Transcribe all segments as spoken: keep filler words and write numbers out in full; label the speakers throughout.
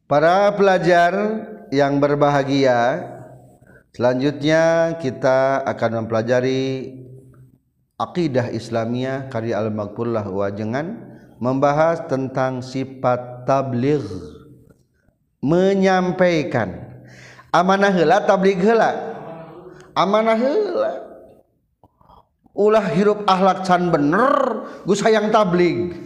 Speaker 1: Para pelajar yang berbahagia, selanjutnya kita akan mempelajari Aqidah Islamiyah karya Al-Maghfurlah Wajengan, membahas tentang sifat tabligh, menyampaikan. Amanah heula tabligh heula. Amanah heula. Ulah hirup akhlak can bener, gus hayang tabligh.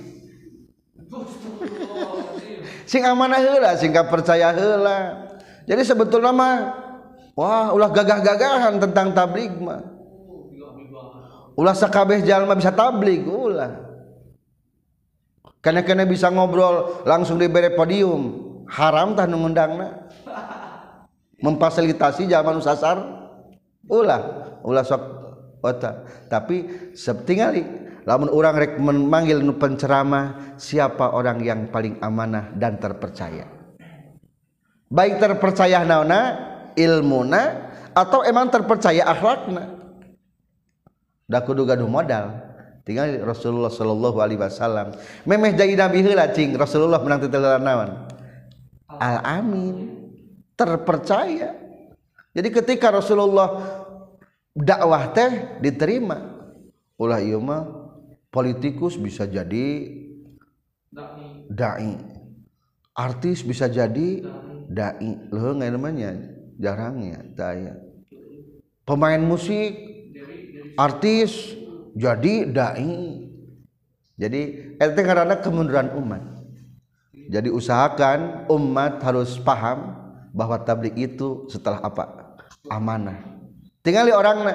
Speaker 1: Sing amanah heula, sing percaya heula. Jadi sebetulnya mah wah ulah gagah-gagahan tentang tabligh mah. Ulah sakabeh jalma bisa tabligh ulah. Kana-kana bisa ngobrol langsung diberi podium. Haram tah nu ngundangna. Memfasilitasi jalma nu sasar. Ulah, ulah sok otak. Tapi setinggali lamun urang rek memanggil nu penceramah, siapa orang yang paling amanah dan terpercaya? Baik terpercaya naonna, ilmuna, atau emang terpercaya akhlakna. Da kudu gaduh modal. Tinggal Rasulullah sallallahu alaihi wasallam memeh jadi nabi heula cing Rasulullah menang titeleran naon? Al-amin, terpercaya. Jadi ketika Rasulullah dakwah teh diterima, ulah ieu mah politikus bisa jadi dai, artis bisa jadi dai, leuh ngan namanya jarangnya daya. Pemain musik, artis jadi dai. Jadi eta ngaranna kemunduran umat. Jadi usahakan umat harus paham bahwa tabligh itu setelah apa? Amanah. Tingali orangna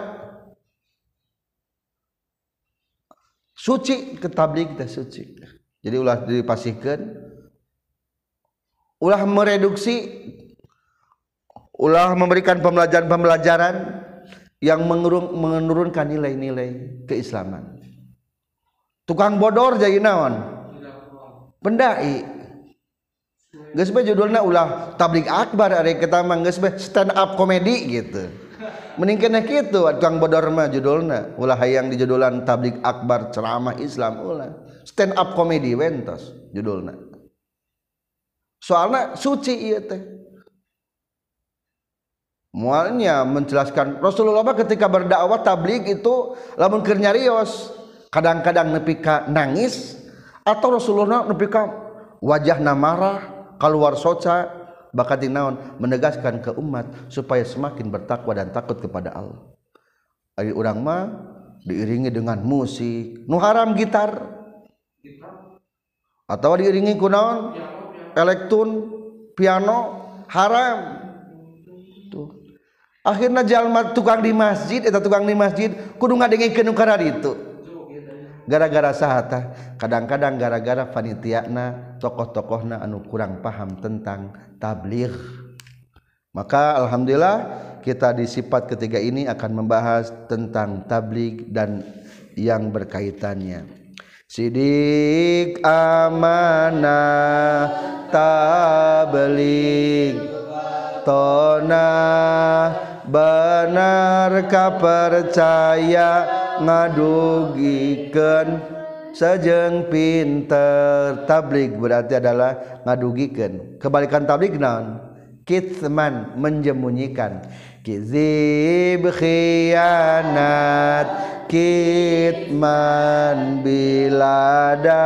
Speaker 1: suci ke tabligh teh suci. Jadi ulah dipasihkeun, ulah mereduksi, ulah memberikan pembelajaran-pembelajaran yang menurunkan nilai-nilai keislaman. Tukang bodor jadi naon? Pendai. Geus bae judulna ulah tabligh akbar ari kita mah geus bae stand up comedy gitu. Mending kena kitu tukang bodor mah judulna ulah hayang dijudulan tabligh akbar ceramah Islam ulah stand up comedy wentos judulna. Soalna suci ieu teh. Mualnya menjelaskan Rasulullah ketika berdakwah tabligh itu lamun keur nyarios kadang-kadang nepi ka nangis atau Rasulullah nepi ka wajahna marah keluar soca bakati naon menegaskan ke umat supaya semakin bertakwa dan takut kepada Allah. Ari urang mah diiringi dengan musik nu haram gitar atau diiringi ku naon elektron piano haram. Akhirnya jalma tukang di masjid eta tukang di masjid kudu ngadengikeun nu kana ditu. Gara-gara saha kadang-kadang gara-gara panitiana tokoh-tokohna anu kurang paham tentang tabligh. Maka alhamdulillah kita di sifat ketiga ini akan membahas tentang tabligh dan yang berkaitannya. Sidik amanah tabligh tona benar kapercaya ngadugikeun sajeng pinter. Tabligh berarti adalah ngadugikeun. Kebalikan tabligh naon? Kitman, menjemunyikan. Kizib khianat kitman bilada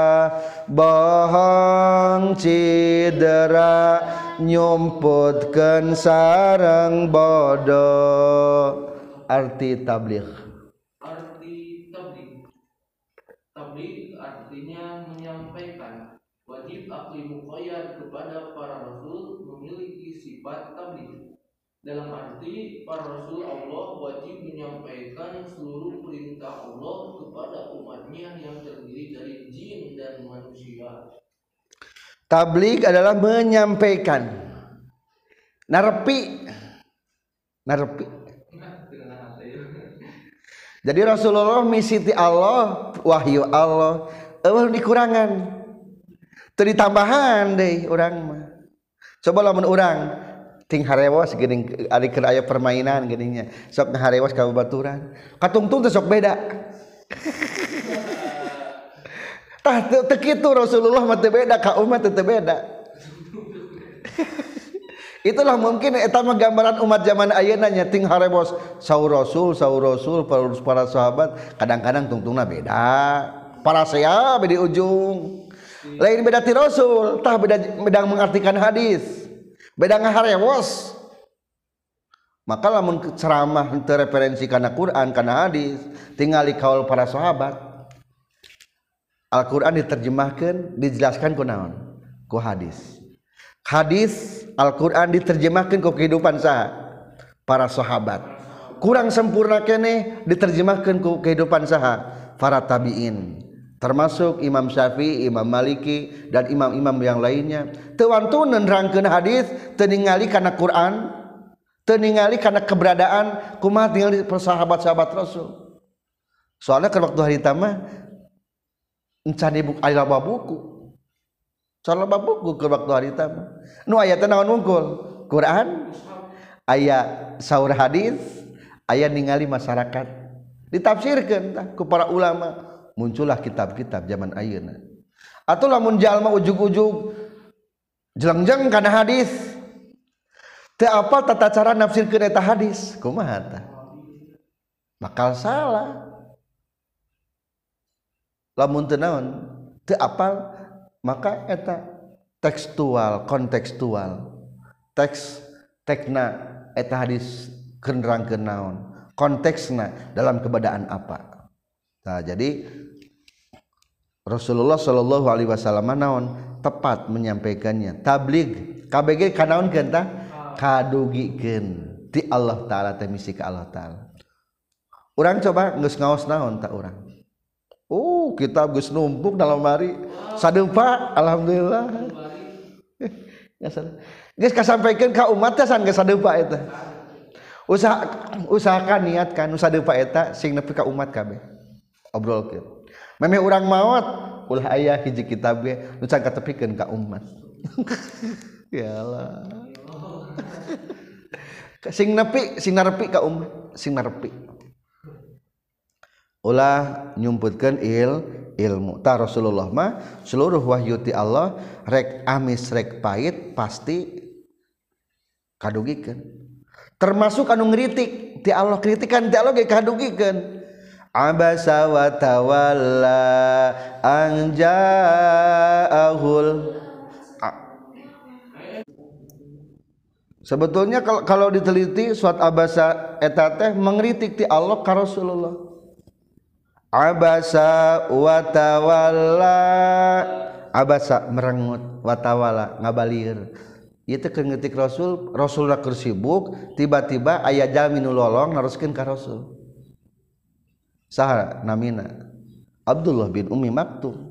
Speaker 1: bohong cidera nyumputkeun sareng bodoh. Arti tabligh.
Speaker 2: Arti tabligh. Tabligh artinya menyampaikan. Wajib akli muqayyad kepada para rasul memiliki sifat tabligh. Dalam arti para rasul Allah wajib menyampaikan seluruh perintah Allah kepada umatnya yang terdiri dari jin dan manusia.
Speaker 1: Tabligh adalah menyampaikan, narepi, narepi. Jadi Rasulullah misi ti Allah, wahyu Allah, eueuh dikurangan, teu ditambahan deui urang mah. Coba lamun urang ting harewas geuning ari keur aya permainan geuning nya, sok harewas ka babaturan, katungtung teh sok beda. Tah teu kitu Rasulullah mah teu beda ka umat teu beda. Itulah mungkin eta mah gambaran umat zaman ayeuna nya ting harebos saur rasul saur rasul para, para sahabat kadang-kadang tungtungna beda para saya beda ujung lain beda ti rasul tah beda beda mengartikan hadis beda ngaharewos maka lamun ceramah henteu referensi kana Quran kana hadis tingali kaul para sahabat Al-Quran diterjemahkeun dijelaskan ku naon ku hadis hadis Al-Quran diterjemahkan ke kehidupan saha para sahabat kurang sempurna kene diterjemahkan ke kehidupan saha para tabiin termasuk Imam Syafi'i, Imam Maliki dan imam-imam yang lainnya teu wantun nerangkeun hadis teu ningali kana Quran teu ningali kana keberadaan kumaha ningali sahabat-sahabat Rasul soalnya ke waktu hari tamah encan ibu aya buku soal buku ke waktu hari tamah nu aya teh naon wungkul Quran aya saur hadis aya ningali masyarakat ditafsirkeun tah ku para ulama muncullah kitab-kitab zaman ayeuna atuh lamun jalma ujug-ujug jelengjeng kana hadis teu apal tata cara nafsirkeun eta hadis kumaha tah bakal salah lamun teu naon teu apal maka eta tekstual kontekstual teks tekna eta hadis kenerangkeun naon konteksna dalam keadaan apa nah jadi Rasulullah sallallahu alaihi wasallam naon tepat menyampaikannya tabligh kabeh kanaonkeun tah kadugikeun ti Allah taala teh misi ka Allah taala urang coba geus ngaos naon tah urang oh kitab geus numpuk dalam hari sadeupa alhamdulillah geus kasampaikan ka umat teh san geus sadeupa eta usaha usahakan niatkan nu sadeupa eta sing nepi ka umat kabeh obrolkeun memeh urang maot ulah aya hiji kitab ge nu can katepikeun ka umat ya Allah sing nepi sing narepi ka umat sing narepi ulah nyumputkeun il ilmu ta Rasulullah mah seluruh wahyu ti Allah rek amis rek pait pasti kadugikeun termasuk anu ngritik ti Allah kritikan ti Allah ge kadugikeun abasa wa tawalla an ja'ahul sebetulnya kalau, kalau diteliti suat abasa eta teh mengritik ti Allah ka Rasulullah abasa wa tawalla abasa merengut wa tawalla ngabalir ieu teh keur ngeutik Rasul Rasulullah keur sibuk tiba-tiba aya jalmi nu lolong naroskeun ka Rasul saha namina Abdullah bin Ummi Maktum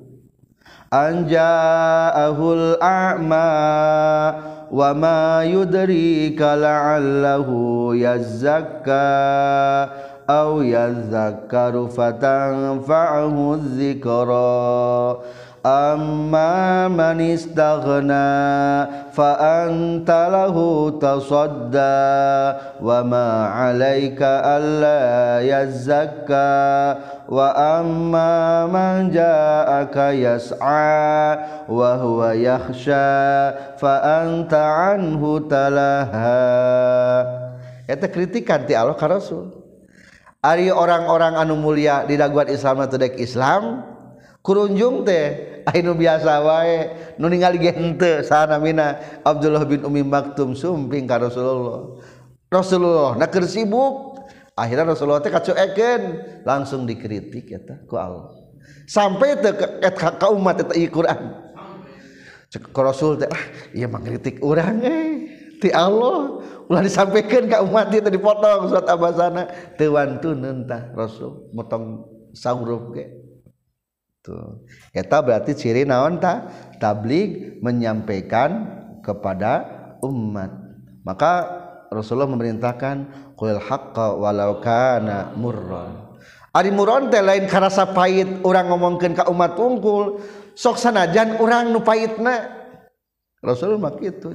Speaker 1: anja'ahul a'ma wa ma yudrika la'allahu yazakka aw yazakkaru fatanfa'ahu dzikra amma man istaghna fa anta lahu tasadda wa ma 'alaika alla yazakka wa amma man ja'aka yas'a wa huwa yakhsha fa anta anhu talaha eta kritikan ti Allah ka Rasul ari orang-orang anu mulia di daguan Islam teh dek Islam kurunjung teh anu biasa wae nu ningali ge henteu saha namina Abdullah bin Ummi Maktum sumping ka Rasulullah Rasulullah na keur sibuk akhirnya Rasulullah teh kacuekeun langsung dikritik eta ku Allah sampai teh ka umat eta ieu Quran cek Rasul teh ah ieu mah ngritik urang eh ti Allah ulah disampaikan ka umat teh dipotong surat abasana teu wantuneun tah Rasul motong sauruf ge tuh eta berarti ciri naon ta tabligh menyampaikan kepada umat maka Rasulullah memerintahkan qul haqqa walau kana murran ari murran teh lain karasa pait urang ngomongkeun ka umat unggul sok sanajan urang nu paitna Rasul mah kitu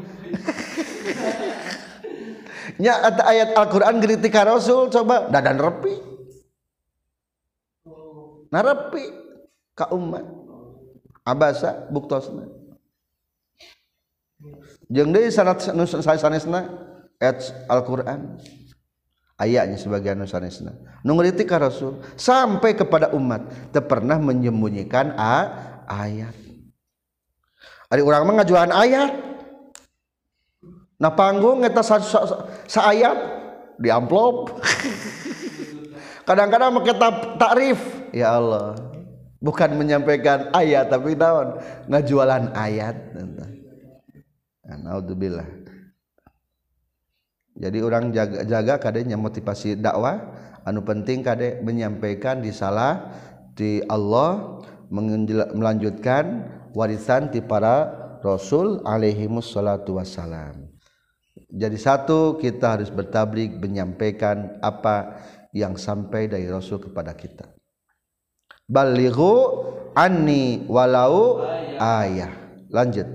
Speaker 1: nya ayat Al-Qur'an ngritik ka Rasul coba dadan repi narepi ka umat abasa buktosna jeung deui sanad sanesna ayat Al-Qur'an ayatnya sebagian nu sanesna nu ngritik ka Rasul sampai kepada umat teu pernah menyembunyikan a ayat. Ari urang mah ngajuan ayat na panggung eta sa, sa, sa ayat di amplop kadang-kadang make takrif ya Allah bukan menyampaikan ayat tapi naon ngajualan ayat. Naudzubillah. Jadi orang jaga, jaga kadenya motivasi dakwah anu penting kade menyampaikan risalah di Allah melanjutkan warisan ti para rasul alaihimus salatu wassalam. Jadi satu kita harus bertabligh menyampaikan apa yang sampai dari Rasul kepada kita. Balighu anni walau ayah. Lanjut.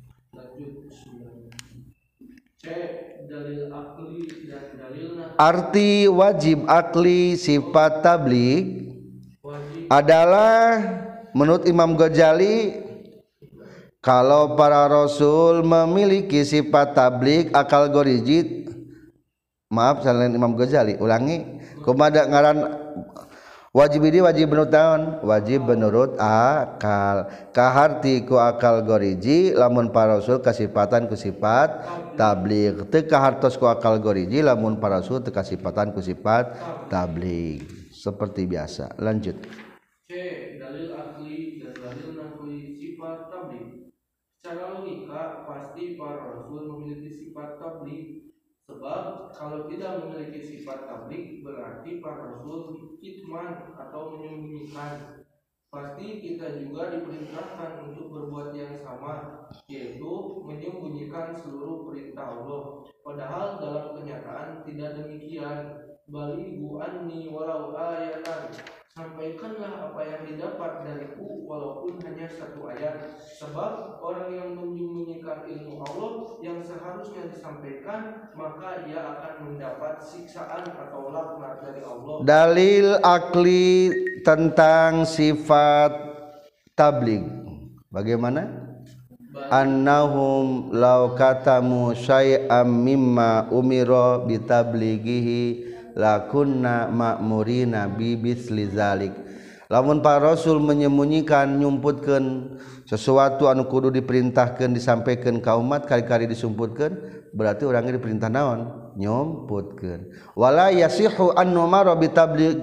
Speaker 1: Arti wajib akli sifat tabligh adalah menurut Imam Ghazali kalau para rasul memiliki sifat tabligh akal gorijid, maaf selain Imam Ghazali ulangi kumaha ngaran wajib ini wajib menurut taon wajib menurut akal kaharti ku akal goriji lamun para rasul kasifatan ku sifat tabligh teu kahartos ku akal goriji lamun para rasul teu kasifatan ku sifat tabligh seperti biasa. Lanjut.
Speaker 2: C. Dalil akli dan dalil naqli sifat tabligh. Secara logika pasti para rasul memiliki sifat tabligh. Sebab kalau tidak memiliki sifat tabligh berarti para rasul kitman atau menyembunyikan. Pasti kita juga diperintahkan untuk berbuat yang sama, yaitu menyembunyikan seluruh perintah Allah. Padahal dalam kenyataan tidak demikian. Balighu anni walau ayatan. Sampaikanlah apa yang didapat dariku walaupun hanya satu ayat. Sebab orang yang menyembunyikan ilmu Allah yang seharusnya disampaikan, maka ia akan mendapat siksaan atau laknat dari Allah.
Speaker 1: Dalil akli tentang sifat tabligh bagaimana? Annahum law katamu syai'am mimma umira bitablighihi lakunna ma'murina bi bisli zalik. Lamun para rasul menyembunyikan nyumputkeun sesuatu anu kudu diperintahkeun disampaikan ka umat kali-kali disumputkeun berarti urang ge diperintah naon nyumputkeun. Wala yasihu an numara bi tabligh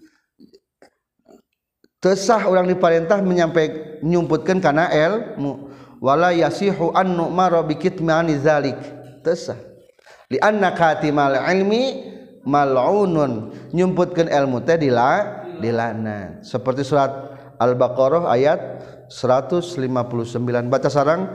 Speaker 1: teu sah urang diperintah menyampaikan nyumputkeun kana ilmu. Wala yasihu an numara bi kitmani zalik teu sah li anna katimal ilmi mal'unun nyumputkeun ilmu teh dila dilaknat seperti surat Al-Baqarah ayat seratus lima puluh sembilan baca sareng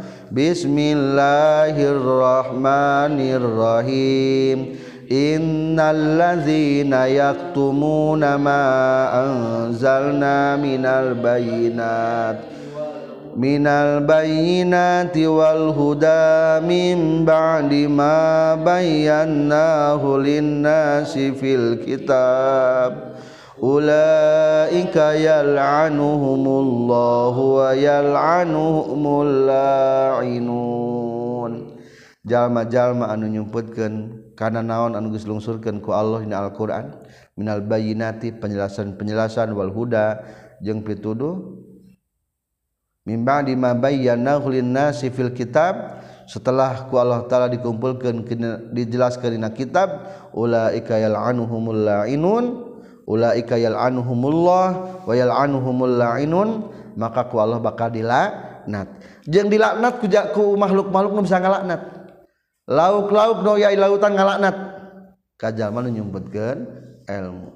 Speaker 1: bismillahirrahmanirrahim innallazina yaktumuna ma anzalna minal bayyinat minal bayyinati wal huda min ba'di ma bayyanahu linnasi fil kitab ulaika yal'anuhumullahu wa yal'anuhumul la'inun. Jalma-jalma anu nyumputkeun kana naon anu geus lungsurkeun ku Allah dina Al-Qur'an minal bayyinati penjelasan-penjelasan wal huda jeung pituduh mimba di mabayyanahu linnasi fil kitab setelah ku Allah taala dikumpulkeun dijelaskeun dina kitab ulaika yal'anuhumul la'inun ulaika yal'anuhumullah wa yal'anuhumul la'inun maka ku Allah bakal dilaknat jeung dilaknat ku, ku makhluk-makhluk nu bisa ngalaknat lauk-lauk nu aya di lautan ngalaknat ka jalma nu nyumputkeun ilmu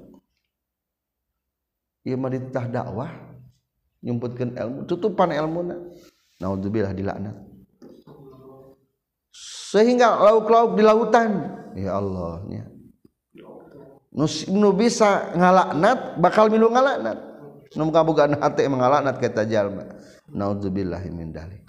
Speaker 1: ieu mah ditah dakwah nyumputkeun ilmu tutupan ilmuna naudzubillah dilaknat sehingga lauk-lauk di lautan ya Allah nya nu bisa ngalaknat bakal milu ngalaknat nu kabogaan hate ngalaknat ka eta jalma naudzubillah min dzalik.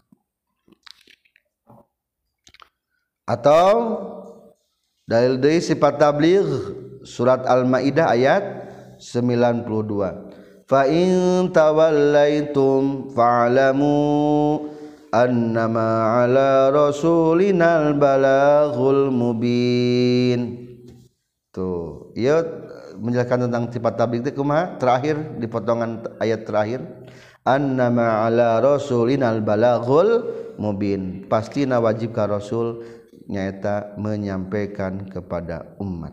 Speaker 1: Atau dalil deui sifat tabligh surat Al-Maidah ayat sembilan puluh dua fa in tawallaitum fa'lamu annama ala rasulinal balaghul mubin. Tuh, ieu menjelaskan tentang sifat tabligh teh kumaha? Terakhir di potongan ayat terakhir, annama ala rasulinal balaghul mubin. Pastina wajib ka rasul nyaeta menyampaikan kepada umat.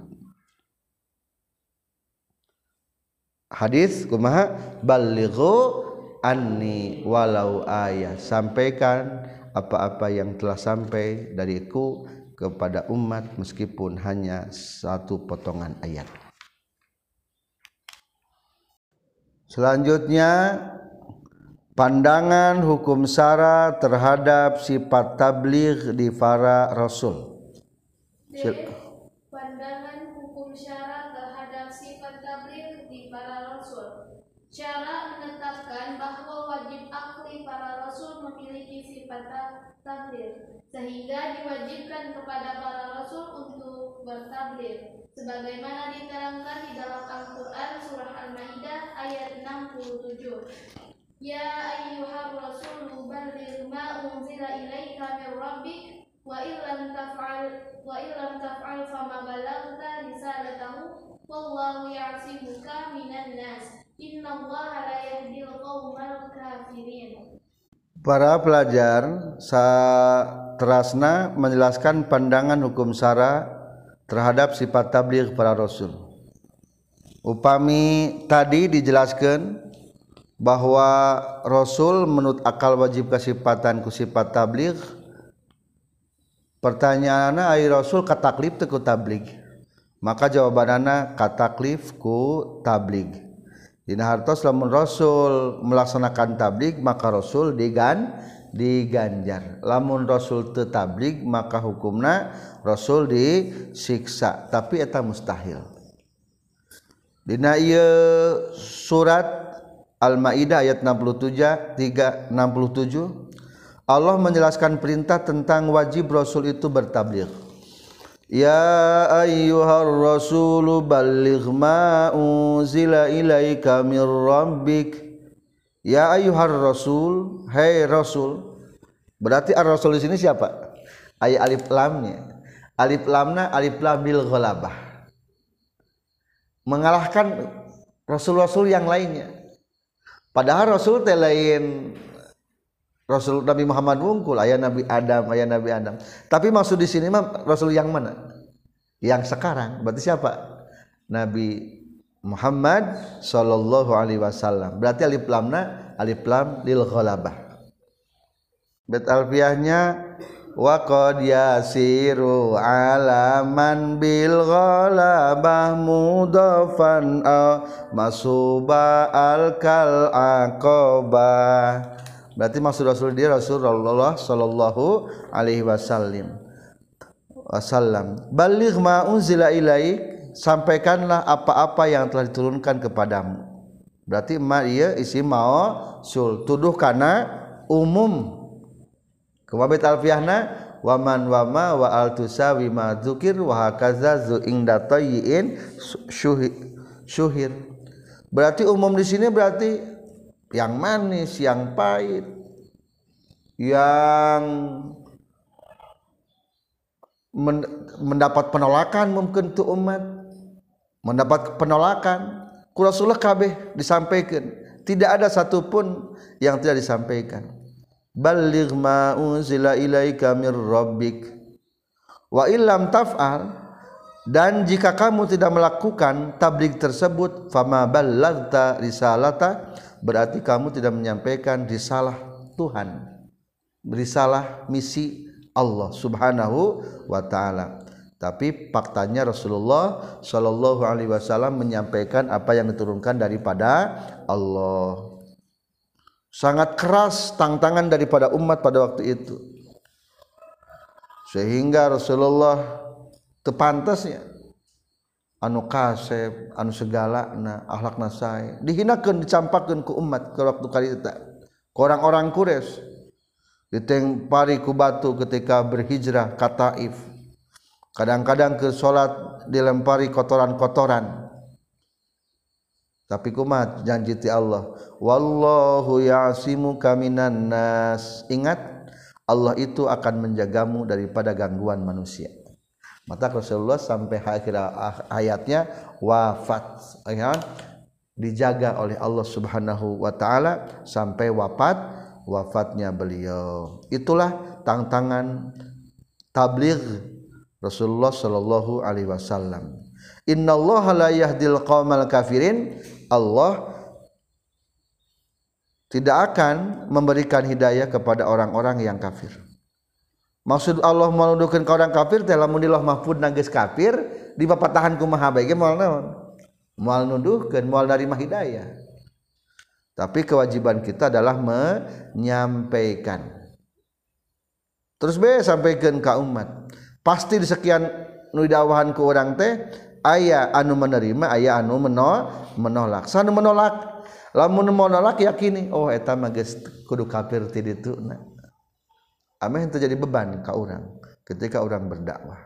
Speaker 1: Hadis kumaha? Ballighu anni walau ayat, sampaikan apa-apa yang telah sampai dariku kepada umat meskipun hanya satu potongan ayat. Selanjutnya pandangan hukum syara terhadap sifat tabligh di para rasul.
Speaker 3: D. Pandangan hukum syara terhadap sifat tabligh di para rasul. Syara menetapkan bahwa wajib akli para rasul memiliki sifat tabligh, sehingga diwajibkan kepada para rasul untuk bertabligh, sebagaimana diterangkan di dalam Al-Quran surah Al-Maidah ayat enam puluh tujuh. Ya ayyuhar rasulu balligh ma unzila ilaika min rabbik wa illam taf'al wa illam taf'al fama ballaghta risalatahu wallahu ya'simuka minan nas innallaha la yahdil qaumal kafirin.
Speaker 1: Para pelajar saterasna menjelaskan pandangan hukum syara terhadap sifat tabligh para rasul. Upami tadi dijelaskan bahwa rasul menurut akal wajib kasifatan ku sifat tabligh. Pertanyaanna ai rasul kataklif teu ku tabligh. Maka jawabanana kataklif ku tabligh. Dina hartos lamun rasul melaksanakan tabligh maka rasul digan diganjar. Lamun rasul teu tabligh maka hukumna rasul disiksa, tapi eta mustahil. Dina ieu surat Al-Maidah ayat enam puluh tujuh tiga enam puluh tujuh Allah menjelaskan perintah tentang wajib rasul itu bertabligh. Ya ayyuhar rasulu balligh ma unzila ilaika mir rabbik. Ya ayyuhar rasul, hai rasul. Berarti ar-rasul di sini siapa? Aya alif lamnya. Alif lamna alif lam bil ghalabah. Mengalahkan rasul-rasul yang lainnya. Padahal rasul teh lain Rasul Nabi Muhammad wungkul, aya Nabi Adam, aya Nabi Adam. Tapi maksud di sini mah Rasul yang mana? Yang sekarang. Berarti siapa? Nabi Muhammad sallallahu alaihi wasallam. Berarti alif lamna alif lam lil ghalabah. Bet alfiahnya wa qad yasiru alaman bil ghalabah mudafan aw masuba al kal aqabah. Berarti maksud Rasul dia Rasulullah sallallahu alaihi wasallam. Wasallam. Balligh ma unzila ilaik, sampaikanlah apa-apa yang telah diturunkan kepadamu. Berarti ma ieu isim mausul, tuduh kana umum. Kemabit alfiahna waman wama wa al tusawi ma dzukir wa hakaza zu inda tayyin syuhir. Berarti umum di sini berarti yang manis, yang pahit, yang mendapat penolakan mungkin tu umat, mendapat penolakan ku Rasulullah kabeh disampaikan, tidak ada satupun yang tidak disampaikan. Balligh ma unzila ilaika mir rabbik wa illam taf'al, dan jika kamu tidak melakukan tabligh tersebut fama ballaghta risalata, berarti kamu tidak menyampaikan risalah Tuhan, risalah misi Allah Subhanahu wa taala. Tapi faktanya Rasulullah sallallahu alaihi wasallam menyampaikan apa yang diturunkan daripada Allah. Sangat keras tantangan daripada umat pada waktu itu. Sehingga Rasulullah tepantasnya anu kasep, anu segalana akhlakna sae dihinakeun, dicampakeun ku umat ke waktu kali eta ku orang-orang Quraisy, ditempari ku batu ketika berhijrah ka Taif. Kadang-kadang ke salat dilempari kotoran-kotoran. Tapi kumat janji ti Allah, wallahu ya'simuka minan nas. Ingat, Allah itu akan menjagamu daripada gangguan manusia. Maka Rasulullah sampai akhir ayatnya wafat, ya, dijaga oleh Allah Subhanahu wa taala sampai wafat wafatnya beliau. Itulah tantangan tabligh Rasulullah sallallahu alaihi wasallam. Innallaha la yahdil qaumal kafirin. Allah tidak akan memberikan hidayah kepada orang-orang yang kafir. Maksud Allah menuduhkeun ka orang kafir teh lamun di Lauh Mahfuz geus kafir, di papatahan kumaha bae ge moal naon? Moal nuduhkeun, moal narima hidayah. Tapi kewajiban kita adalah menyampaikan. Terus bae sampaikan ka umat. Pasti di sekian nu didakwahan ku urang teh aya anu menerima, aya anu menolak. Sanu menolak, lamun menolak yakini, oh eta mah geus kudu kafir ti dituna. Ameh terjadi beban ka urang ketika urang berdakwah.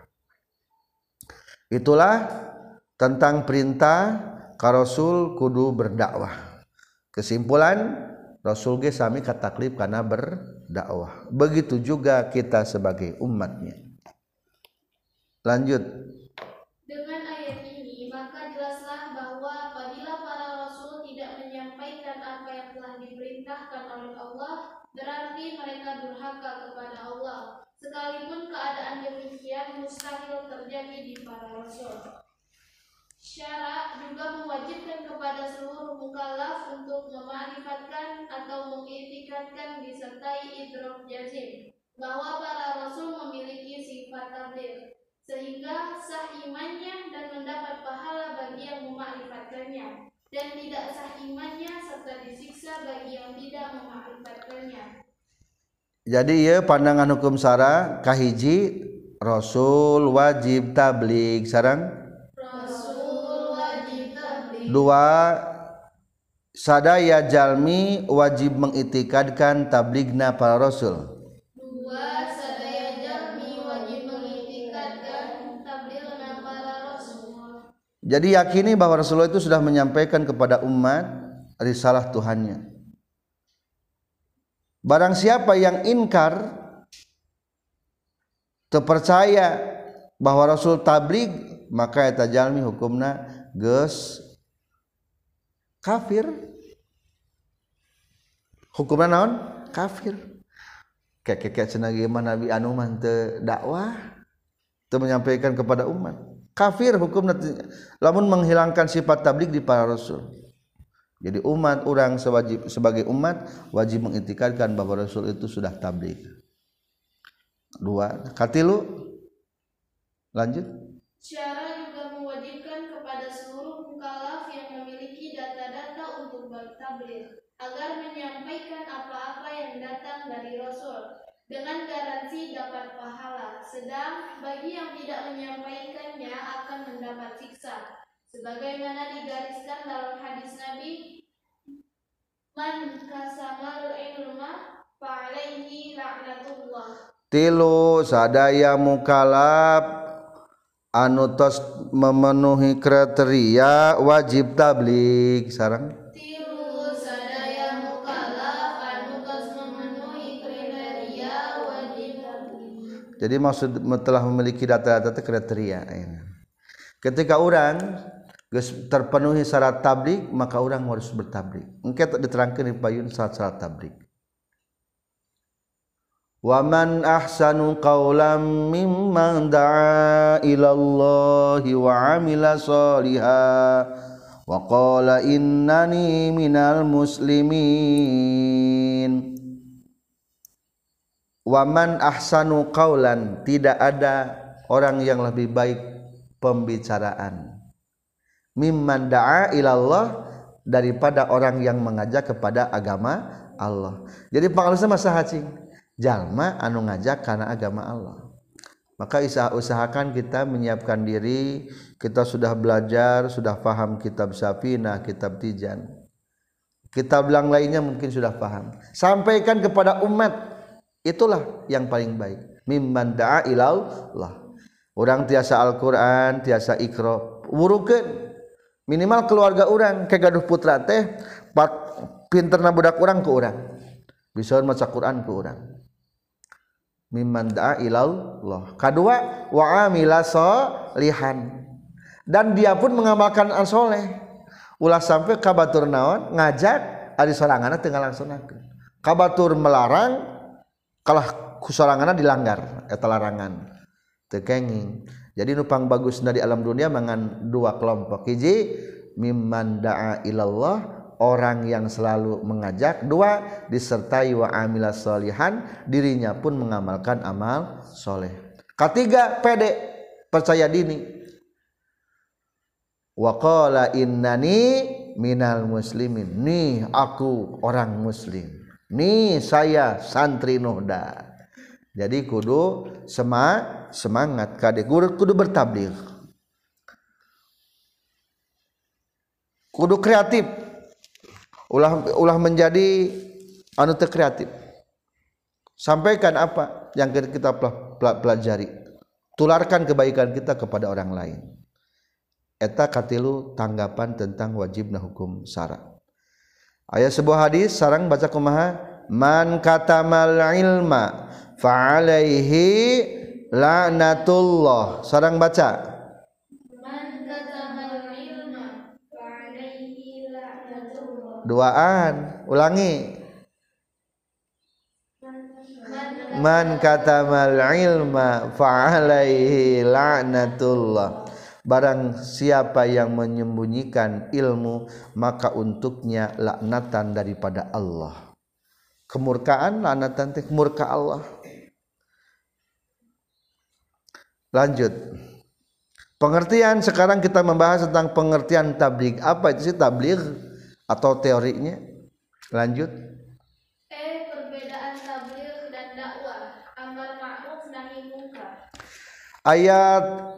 Speaker 1: Itulah tentang perintah ka Rasul kudu berdakwah. Kesimpulan, Rasul ge sami kataklif kana berdakwah. Begitu juga kita sebagai umatnya. Lanjut.
Speaker 3: Dengan ayat ini, maka jelaslah bahwa apabila para rasul tidak menyampaikan apa yang telah diperintahkan oleh Allah, berarti mereka durhaka kepada Allah. Sekalipun keadaan demikian mustahil terjadi di para rasul. Syara juga mewajibkan kepada seluruh mukallaf untuk mema'rifatkan atau mengiktikadkan disertai idrok jazim bahwa para rasul memiliki sifat tabligh, sehingga sah imannya dan mendapat pahala bagi yang memakrifatkannya, dan tidak sah imannya serta disiksa bagi yang tidak memakrifatkannya.
Speaker 1: Jadi ya pandangan hukum syara kahiji Rasul wajib tabligh sareng
Speaker 3: Rasul wajib tabligh.
Speaker 1: Dua sadaya jalmi wajib mengitikadkan tablighna para rasul.
Speaker 3: Dua sadaya jalmi wajib mengitikadkan tablighna para rasul.
Speaker 1: Jadi yakini bahwa Rasulullah itu sudah menyampaikan kepada umat risalah Tuhannya. Barang siapa yang inkar, terpercaya bahwa Rasul tabligh, maka eta jalmi hukumna geus kafir. Hukumna naon? Kafir. Kek-kek cenah ge mah nabi anu mah teu dakwah, teu menyampaikan kepada umat. Kafir hukumna lamun menghilangkan sifat tabligh di para rasul. Jadi umat orang sewajib, sebagai umat wajib mengiktikadkan bahwa Rasul itu sudah tabligh. Dua, katilu. Lanjut.
Speaker 3: Syara juga mewajibkan kepada seluruh mukallaf yang memiliki data-data untuk bertabligh agar menyampaikan apa-apa yang datang dari Rasul dengan garansi dapat pahala, sedang bagi yang tidak menyampaikannya akan mendapat siksa. Sebagaimana digariskan dalam hadis Nabi, man kasamal ilma fa'alaihi la'natullah.
Speaker 1: Tilu sadaya mukallaf anu tos memenuhi kriteria wajib tabligh sareng.
Speaker 3: Tilu sadaya mukallaf anu tos memenuhi kriteria wajib tabligh.
Speaker 1: Jadi maksud telah memiliki data-data kriteria. Ketika orang geus terpenuhi syarat tabligh, maka orang harus bertabligh. Engke diterangkeun di payun syarat-syarat tabligh. Wa man ahsanu qawlan mimman da'a ila Allahi wa 'amila shalihan wa qala innani minal muslimin. Wa man ahsanu qawlan, tidak ada orang yang lebih baik pembicaraan mimman da'a ilallah, daripada orang yang mengajak kepada agama Allah. Jadi pangalusna masa hacing jalma anu ngajak karena agama Allah. Maka usahakan kita menyiapkan diri, kita sudah belajar, sudah paham kitab Safinah, kitab Tijan, kitab yang lainnya mungkin sudah paham. Sampaikan kepada umat, itulah yang paling baik. Mimman da'a ilallah. Orang tiasa Al-Quran, tiasa Iqra, wurukeun minimal keluarga orang ke gaduh putra teh pinterna budak orang ke orang bisa maca Quran ke orang. mimman da'a ilallah. Kedua, wa amila sholihan, dan dia pun mengamalkan an soleh. Ulah sampai kabatur naon ngajak ari soranganna teu ngalaksanakeun. Kabatur melarang kalah ku soranganna dilanggar eta larangan. Teu kenging. Jadi nupang bagusna di alam dunia mangan dua kelompok. Hiji mimman da'a ilallah, orang yang selalu mengajak. Dua, disertai wa amila sholihan, dirinya pun mengamalkan amal soleh. Ketiga, pede, percaya diri. Wa qala innani minal muslimin, nih aku orang muslim, nih saya santri Nuhda. Jadi kudu sema semangat kade kudu, kudu bertabligh, kudu kreatif, ulah ulah menjadi anu teu kreatif. Sampaikan apa yang kita pelajari, tularkan kebaikan kita kepada orang lain. Eta katilu tanggapan tentang wajibna hukum syara. Aya sebuah hadis sareng baca kumaha, man katamal ilma fa alaihi la'natullah. Sareng baca,
Speaker 3: Man katamal ilma fa alaihi la'natullah.
Speaker 1: duaan ulangi, man katamal ilma fa alaihi la'natullah. Barang siapa yang menyembunyikan ilmu, maka untuknya laknatan daripada Allah. Kemurkaan, laknatan teh murka Allah. Lanjut. Pengertian, sekarang kita membahas tentang pengertian tabligh. Apa itu sih tabligh atau teorinya? Lanjut.
Speaker 3: E. Perbedaan tabligh dan dakwah, amar ma'ruf nahi munkar.
Speaker 1: Ayat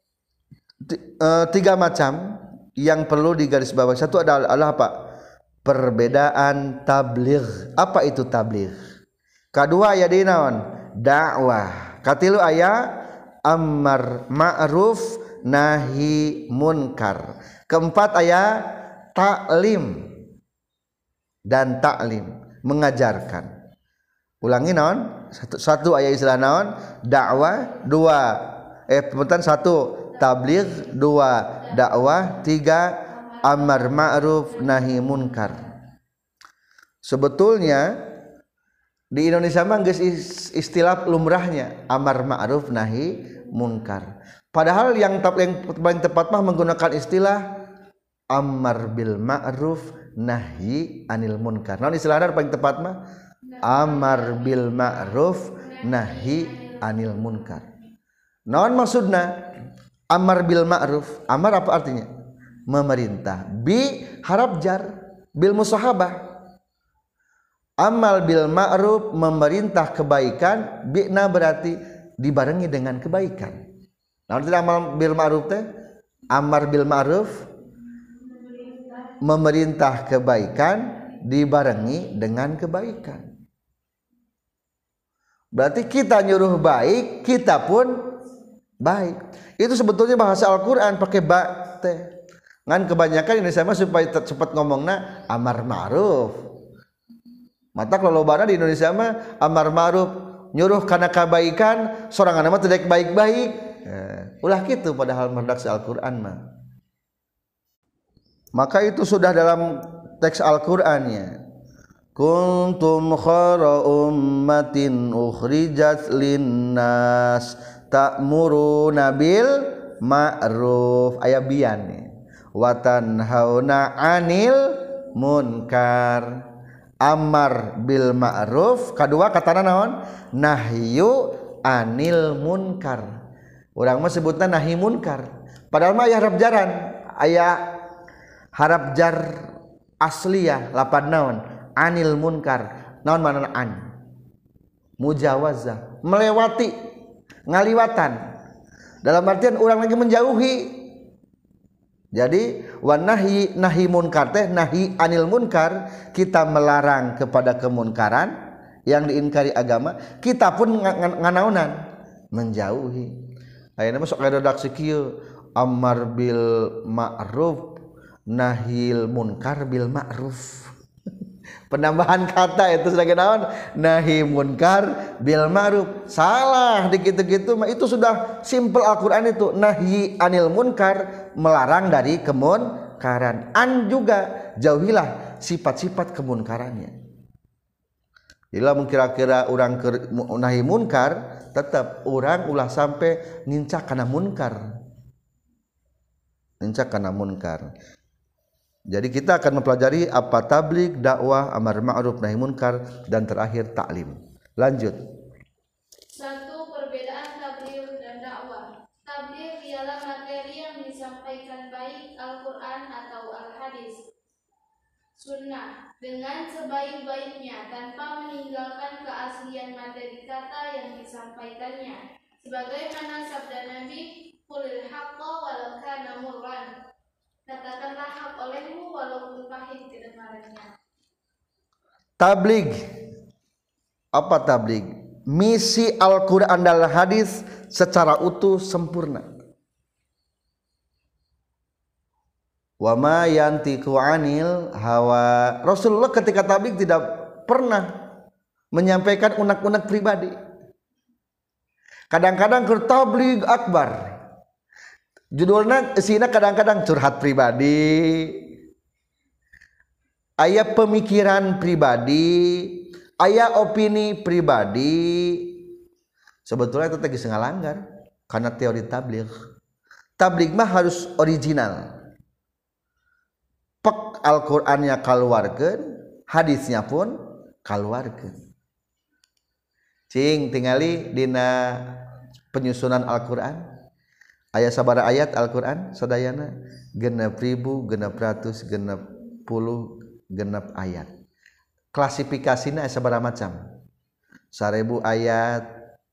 Speaker 1: tiga macam yang perlu digarisbawahi. Satu adalah, adalah apa? Perbedaan tabligh. Apa itu tabligh? Kedua aya di naon? Dakwah. Katilu aya amar ma'ruf nahi munkar. Keempat aya taklim dan taklim, mengajarkan. Ulangi naon? Satu, satu aya istilah naon? Dakwah. Dua eh pentan satu tabligh, dua dakwah, tiga amar ma'ruf nahi munkar. Sebetulnya di Indonesia mah geus istilah lumrahnya amar ma'ruf nahi munkar. Padahal yang paling tepat mah menggunakan istilah amar bil ma'ruf nahi anil munkar. Naon istilahna paling tepat mah amar bil ma'ruf nahi anil munkar. Naon maksudna? Amar bil ma'ruf, amar apa artinya? Memerintah. Bi harap jar, bil musahabah. Amal bil ma'ruf, memerintah kebaikan, bi'na berarti dibarengi dengan kebaikan. Nah, artinya amal bil ma'ruf teh, amar bil ma'ruf, memerintah kebaikan dibarengi dengan kebaikan. Berarti kita nyuruh baik, kita pun baik. Itu sebetulnya bahasa Al-Quran pakai ba teh. Ngan kebanyakan Indonesia mah supaya cepat ngomongna amar ma'ruf. Mata kelolobana di Indonesia mah amar ma'ruf nyuruh kana kebaikan, sorangan mah teu baik-baik. Eh, ulah kitu padahal redaksi Al-Quran mah. Maka itu sudah dalam teks Al-Qur'annya. Kuntum khara ummatin ukhrijat linnas ta'muruna bil ma'ruf, aya bian wa tanhauna 'anil munkar. Amar bil ma'ruf, kadua katana naon? Nahyu 'anil munkar. Urang mah sebutna nahi munkar. Padahal mah aya harap jaran, aya harap jar asliyah lapan naon? 'Anil munkar. Naon manana an? Mujawazah, melewati, ngaliwatan, dalam artian orang lagi menjauhi. Jadi wanahi nahi munkar teh nahi anil munkar, kita melarang kepada kemunkaran yang diingkari agama, kita pun nganaunan menjauhi. Ayeuna mah sok redaksi kieu, amar bil ma'ruf nahil munkar bil ma'ruf. penambahan kata itu sebagai naon nahi munkar bil ma'ruf. Salah dikitu-kitu mah itu sudah simple Al-Qur'an itu nahi anil munkar melarang dari kemunkaran. An juga jauhilah sifat-sifat kemunkarannya. Bila kira-kira orang nahi munkar tetap orang ulah sampai nincak kana munkar. Nincak kana munkar. Jadi kita akan mempelajari apa tabligh, dakwah, amar ma'ruf, nahi munkar dan terakhir taklim. Lanjut.
Speaker 3: Satu, perbedaan tabligh dan dakwah. Tabligh ialah materi yang disampaikan baik Al-Qur'an atau Al-Hadis, sunnah dengan sebaik-baiknya tanpa meninggalkan keaslian materi kata yang disampaikannya. Sebagaimana sabda Nabi, "Qulil haqqo walau kana murran." Katakanlah hak olehmu walaupun pahit kedengarannya.
Speaker 1: Tabligh. Apa tabligh? Misi Al-Qur'an dan hadis secara utuh sempurna. Wa ma yantiqu 'anil hawa. Rasulullah ketika tabligh tidak pernah menyampaikan unek-unek pribadi. Kadang-kadang ke tabligh akbar. Judulnya isina kadang-kadang curhat pribadi, aya pemikiran pribadi, aya opini pribadi. Sebetulnya itu tadi sengalanggar karena teori tabligh. Tabligh mah harus original. Pek Al-Qur'annya kaluarkeun, hadisnya pun kaluarkeun. Cing tingali dina penyusunan Al-Qur'an. Aya sabara ayat Al-Qur'an sadayana genep ribu, genep ratus, genep puluh, genep ayat. Klasifikasina sabara macam. Seribu ayat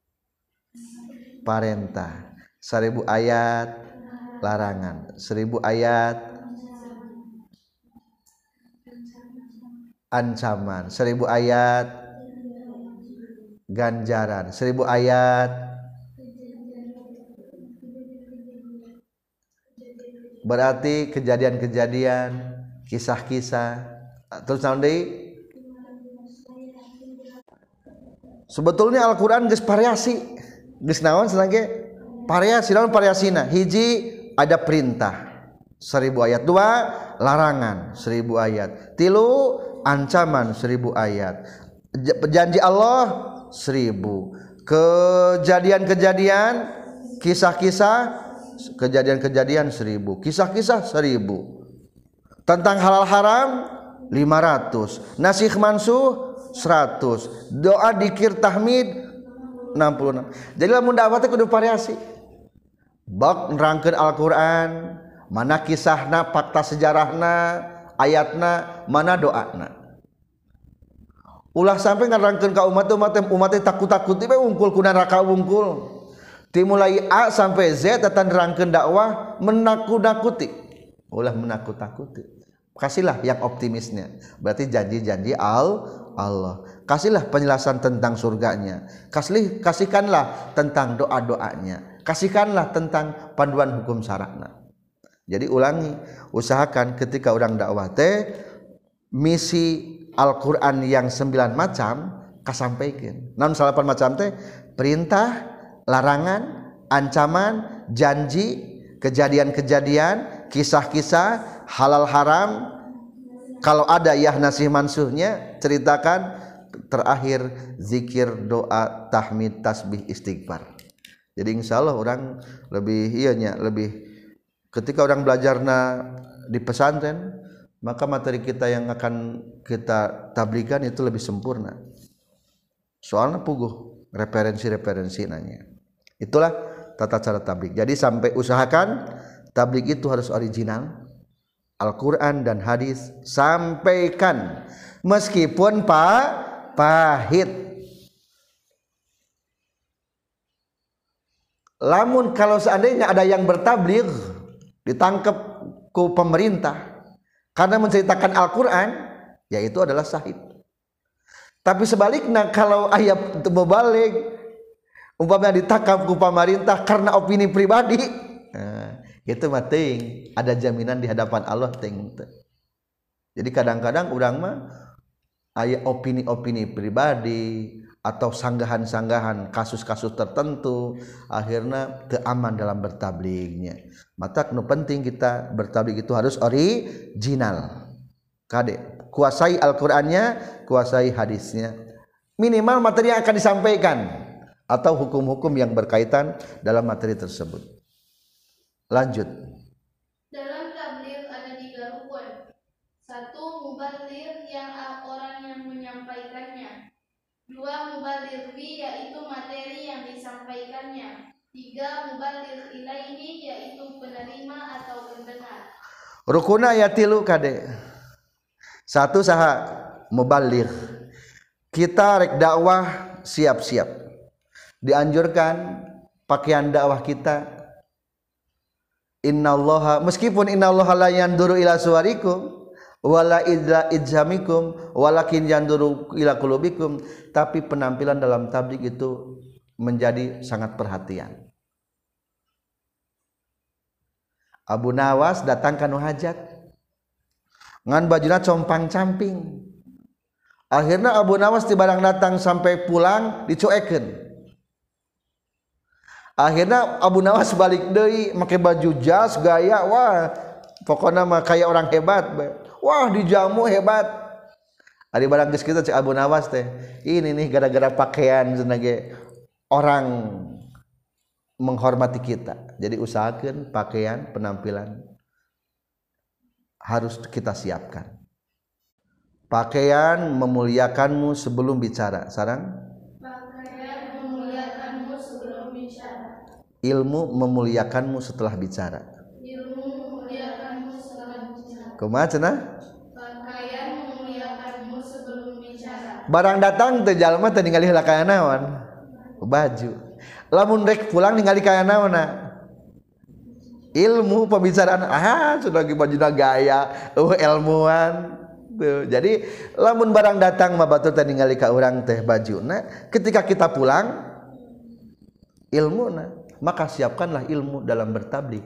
Speaker 1: parentah, seribu ayat larangan, seribu ayat ancaman, seribu ayat ganjaran, seribu ayat berarti kejadian-kejadian, kisah-kisah. Terus nanti sebetulnya Al-Qur'an geus variasi. Geus naon senage variasi, naon variasina? Hiji ada perintah seribu ayat, dua larangan seribu ayat, tilu ancaman seribu ayat, janji Allah seribu, kejadian-kejadian, kisah-kisah, kejadian-kejadian seribu, kisah-kisah seribu, tentang halal haram lima ratus, nasikh mansuh seratus, doa dikir tahmid enam puluh enam. Jadi lamun dakwah teh kudu variasi. Bak nerangkeun Al-Qur'an, mana kisahna, fakta sejarahna, ayatna, mana doana. Ulah sampai ngarangkeun ka umat-umat umat teh takut-takut we ungkul ku neraka wungkul. Dimulai A sampai Z tatan nerangkeun dakwah menakut-nakuti. Ulah menakut-nakuti. Kasihlah yang optimisnya. Berarti janji-janji al Allah. Kasihlah penjelasan tentang surganya. Kasih kasihkanlah tentang doa-doanya. Kasihkanlah tentang panduan hukum syara'na. Jadi ulangi, usahakan ketika orang dakwah teh misi Al-Qur'an yang sembilan macam kasampaikan. Namun salapan macam teh perintah, larangan, ancaman, janji, kejadian-kejadian, kisah-kisah, halal haram. Kalau ada yah nasih mansuhnya ceritakan, terakhir zikir, doa, tahmid, tasbih, istighfar. Jadi insya Allah orang lebih ianya lebih ketika orang belajarna di pesantren, maka materi kita yang akan kita tabligan itu lebih sempurna. Soalnya puguh referensi-referensi nanya. Itulah tata cara tabligh. Jadi sampai usahakan tabligh itu harus original, Al-Qur'an dan hadis sampaikan meskipun pak pahit. Lamun kalau seandainya ada yang bertabligh ditangkap ku pemerintah karena menceritakan Al-Qur'an, yaitu adalah syahid. Tapi sebaliknya kalau ayat mubalik umpamanya ditangkap ku pemerintah karena opini pribadi, nah, itu mah ting ada jaminan di hadapan Allah ting. Jadi kadang-kadang urang mah aya opini-opini pribadi atau sanggahan-sanggahan kasus-kasus tertentu akhirnya teu aman dalam bertablignya. Mata nu penting kita bertablig itu harus original. Kade kuasai Al-Qur'annya, kuasai hadisnya. Minimal materi yang akan disampaikan atau hukum-hukum yang berkaitan dalam materi tersebut. Lanjut.
Speaker 3: Dalam tabligh ada tiga rukun. Satu, mubaligh yang orang yang menyampaikannya. Dua, mubaligh bi yaitu materi yang disampaikannya. Tiga, mubaligh ilaihi yaitu penerima atau pendengar.
Speaker 1: Rukuna aya tilu kade. Satu saha mubaligh. Kita rek dakwah siap-siap. Dianjurkan pakaian dakwah kita innallaha meskipun innallaha la yanduru ila suwarikum wala idla ijamikum walakin yanduru ila qulubikum, tapi penampilan dalam tabligh itu menjadi sangat perhatian. Abu Nawas datang ka nu hajat ngan bajuna compang-camping. Akhirnya Abu Nawas ti barang datang sampai pulang dicuekeun. Akhirnya Abu Nawas balik deui make baju jas gaya wah pokoknya mah kayak orang hebat. Wah dijamu hebat. Ari barang geus kitu cek Abu Nawas teh. Ini nih gara-gara pakaian sebagai orang menghormati kita. Jadi usahakan pakaian penampilan harus kita siapkan. Pakaian memuliakanmu sebelum bicara. Sarang?
Speaker 3: Pakaian memuliakanmu sebelum bicara.
Speaker 1: Ilmu memuliakanmu setelah bicara.
Speaker 3: Ilmu memuliakanmu setelah bicara.
Speaker 1: Kumaha cenah?
Speaker 3: Pakaian memuliakanmu sebelum bicara.
Speaker 1: Barang datang teh jalma teh ningali heula kaya naon? Baju. Lamun rek pulang ningali kaya naonna? Ilmu pembicaraan. Ah, sudah ge bajuna gaya, eueuh ilmuwan. Tuh. Jadi lamun barang datang mah batur teh ningali ka urang teh bajuna, ketika kita pulang ilmuna, maka siapkanlah ilmu dalam bertabligh.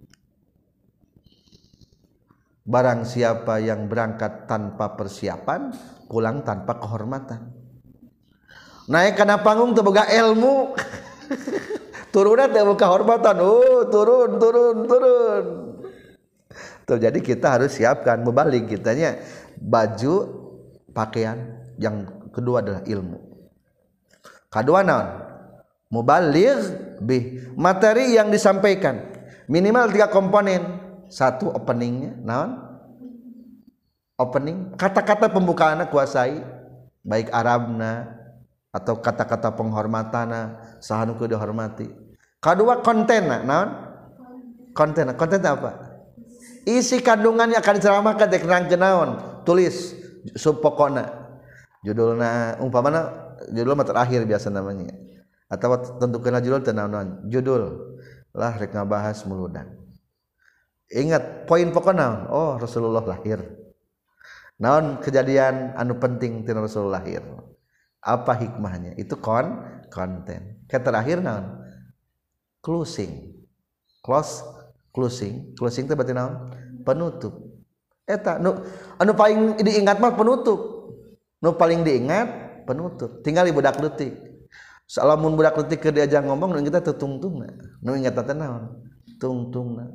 Speaker 1: Barang siapa yang berangkat tanpa persiapan, pulang tanpa kehormatan. Naik kana panggung teu boga ilmu. Turunna teu boga kehormatan. Oh, turun, turun, turun. Tuh, jadi kita harus siapkan mubaligh kitanya baju, pakaian. Yang kedua adalah ilmu. Kedua naon? Mubaligh bi materi yang disampaikan. Minimal tiga komponen. Satu openingnya, naon? Opening, kata-kata pembukaannya kuasai, baik Arabna atau kata-kata penghormatana, sahanu ku dihormati. Kedua kontenna, naon? Kontenna, konten apa? Isi kandungan yang akan diceramahkan teh kerangkeun naon? Tulis subpokona. Judulna umpamana judul mah terakhir biasa namanya. Atau tentukeun judul teh naon? Judul lah rek ngabahas muludan. Ingat poin pokoknya, oh Rasulullah lahir. Naon kejadian anu penting tina Rasulullah lahir. Apa hikmahnya? Itu kon konten. Ke terakhir naon? Closing. Close closing. Closing itu berarti naon? Penutup. Eta nu anu paling diingat mah penutup. Nu paling diingat penutup. Tinggal budak leutik. Salamun budak leutik keur diajak ngomong nu kita tutungtungna. Nu ingat teh naon? Tungtungna.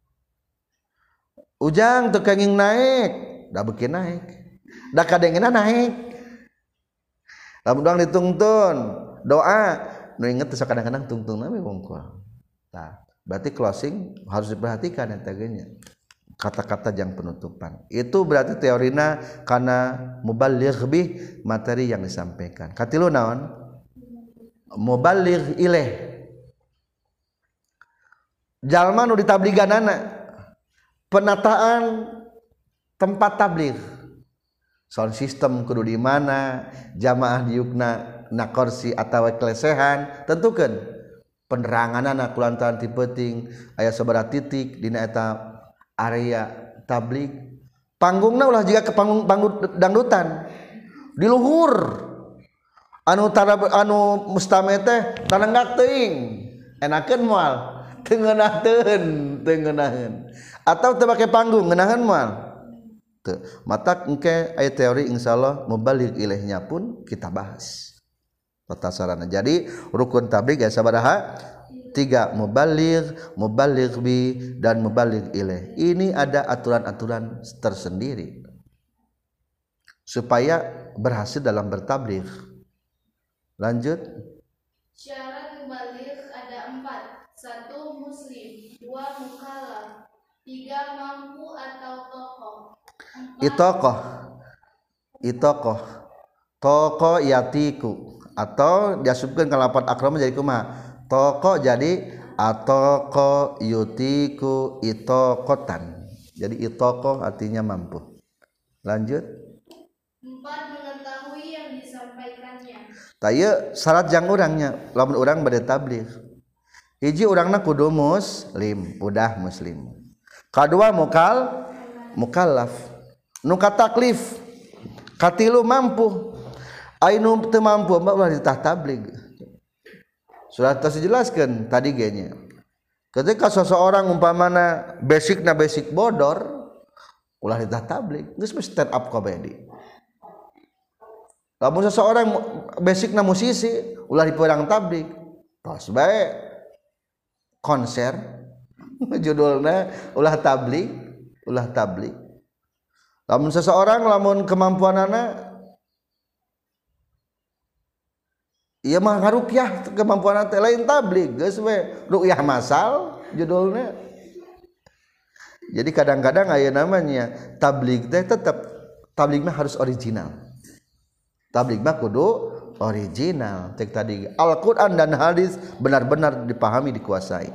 Speaker 1: Ujang teu kenging naik, da beuki naik. Da kadengena naik. Lamun doang ditungtun, doa, nu inget teh kadang-kadang tungtungna we wungkul. Tah, berarti closing harus diperhatikan eta ge nya. Kata-kata yang penutupan. Itu berarti teorina kana mubaligh bi materi yang disampaikan. Katilu naon? Mubaligh ilaih. Jalma nu ditabliganana penataan tempat tabligh, sound system kudu di mana, jamaah diukna na kursi atawa kelesehan, tentukeun peneranganana kulantaran ti peuting aya sabaraha titik dina eta area tabligh. Panggungna ulah jiga ke panggung panggung dangdutan di luhur anu tara anu mustame teh tanenggak teuing enakeun moal teu ngeunaheun teu ngeunaheun atau teu make panggung ngeunaheun moal Tuh. Mata engke aya teori insyaallah mubaligh ilaihnya pun kita bahas. Tata sarana. Jadi rukun tabligh ya sabaraha? Tiga, mubaligh, mubaligh bi dan mubaligh ilaih. Ini ada aturan-aturan tersendiri supaya berhasil dalam bertabligh. Lanjut.
Speaker 3: Syarat mubaligh ada empat. Satu, muslim. Dua, mukallaf. Tiga, mampu atau tokoh.
Speaker 1: Itokoh, itokoh, toko yatiku atau diasupkan ke lapan akram jadi kuma toko jadi atoko yutiku itokotan jadi itoko artinya mampu. Lanjut.
Speaker 3: Empat, mengetahui yang disampaikannya.
Speaker 1: Tayo syarat jang orangnya lamun orang bade tabligh hiji orangna kudu muslim udah muslim kadua mukal mukallaf nu kataklif katilu mampu ainu teu mampu mbak ulah ditah tabligh sudah terjelaskan tadi genya ketika seseorang umpamana basicna basic bodor ulah ditah tabligh geus stand up comedy lamun seseorang basicna musisi ulah diperang tabligh tos bae konser judulna ulah tabligh ulah tabligh. Lamun seseorang lamun kemampuanana ieu mah ngarukyah kemampuanana teh lain tabligh geus we ruqyah masal judulna. Jadi kadang-kadang aya namanya tabligh teh tetap tabligh mah harus original. Tabligh mah kudu original. Cek tadi Al-Qur'an dan hadis benar-benar dipahami dikuasai.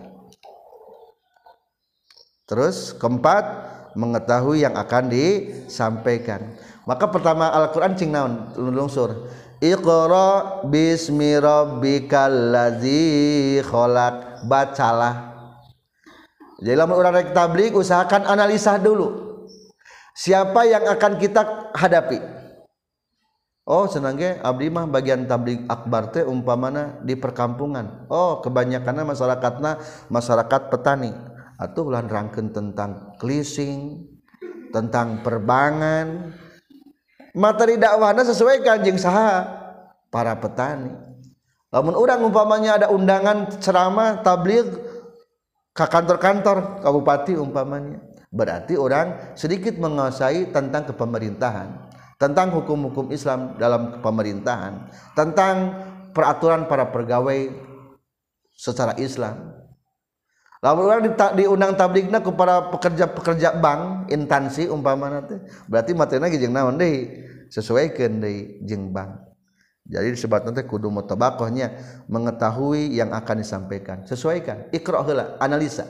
Speaker 1: Terus keempat mengetahui yang akan disampaikan. Maka pertama Al-Qur'an cing naon lungsur. Iqra bismi rabbikal ladzi khalaq. Bacalah. Jadi lamun urang rek tabligh usahakan analisa dulu. Siapa yang akan kita hadapi? Oh, senang ge abdi mah bagian tabligh akbar teh umpamana di perkampungan. Oh, kebanyakanna masyarakatna masyarakat petani. Atuh ulah nerangkeun tentang leasing, tentang perbangan. Materi dakwahna sesuaikan jeung saha? Para petani. Lamun urang umpamanya ada undangan ceramah tabligh ka kantor-kantor kabupaten umpamanya, berarti orang sedikit menguasai tentang kepemerintahan, tentang hukum-hukum Islam dalam pemerintahan, tentang peraturan para pegawai secara Islam. Lamun urang diundang tablighna ku para pekerja-pekerja bank, instansi umpamana teh, berarti materina ge jeung naon deui? Sesuaikeun deui jeung bank. Jadi disebutna teh kudu mutabaqahnya mengetahui yang akan disampaikan. Sesuaikan, iqra heula, analisa.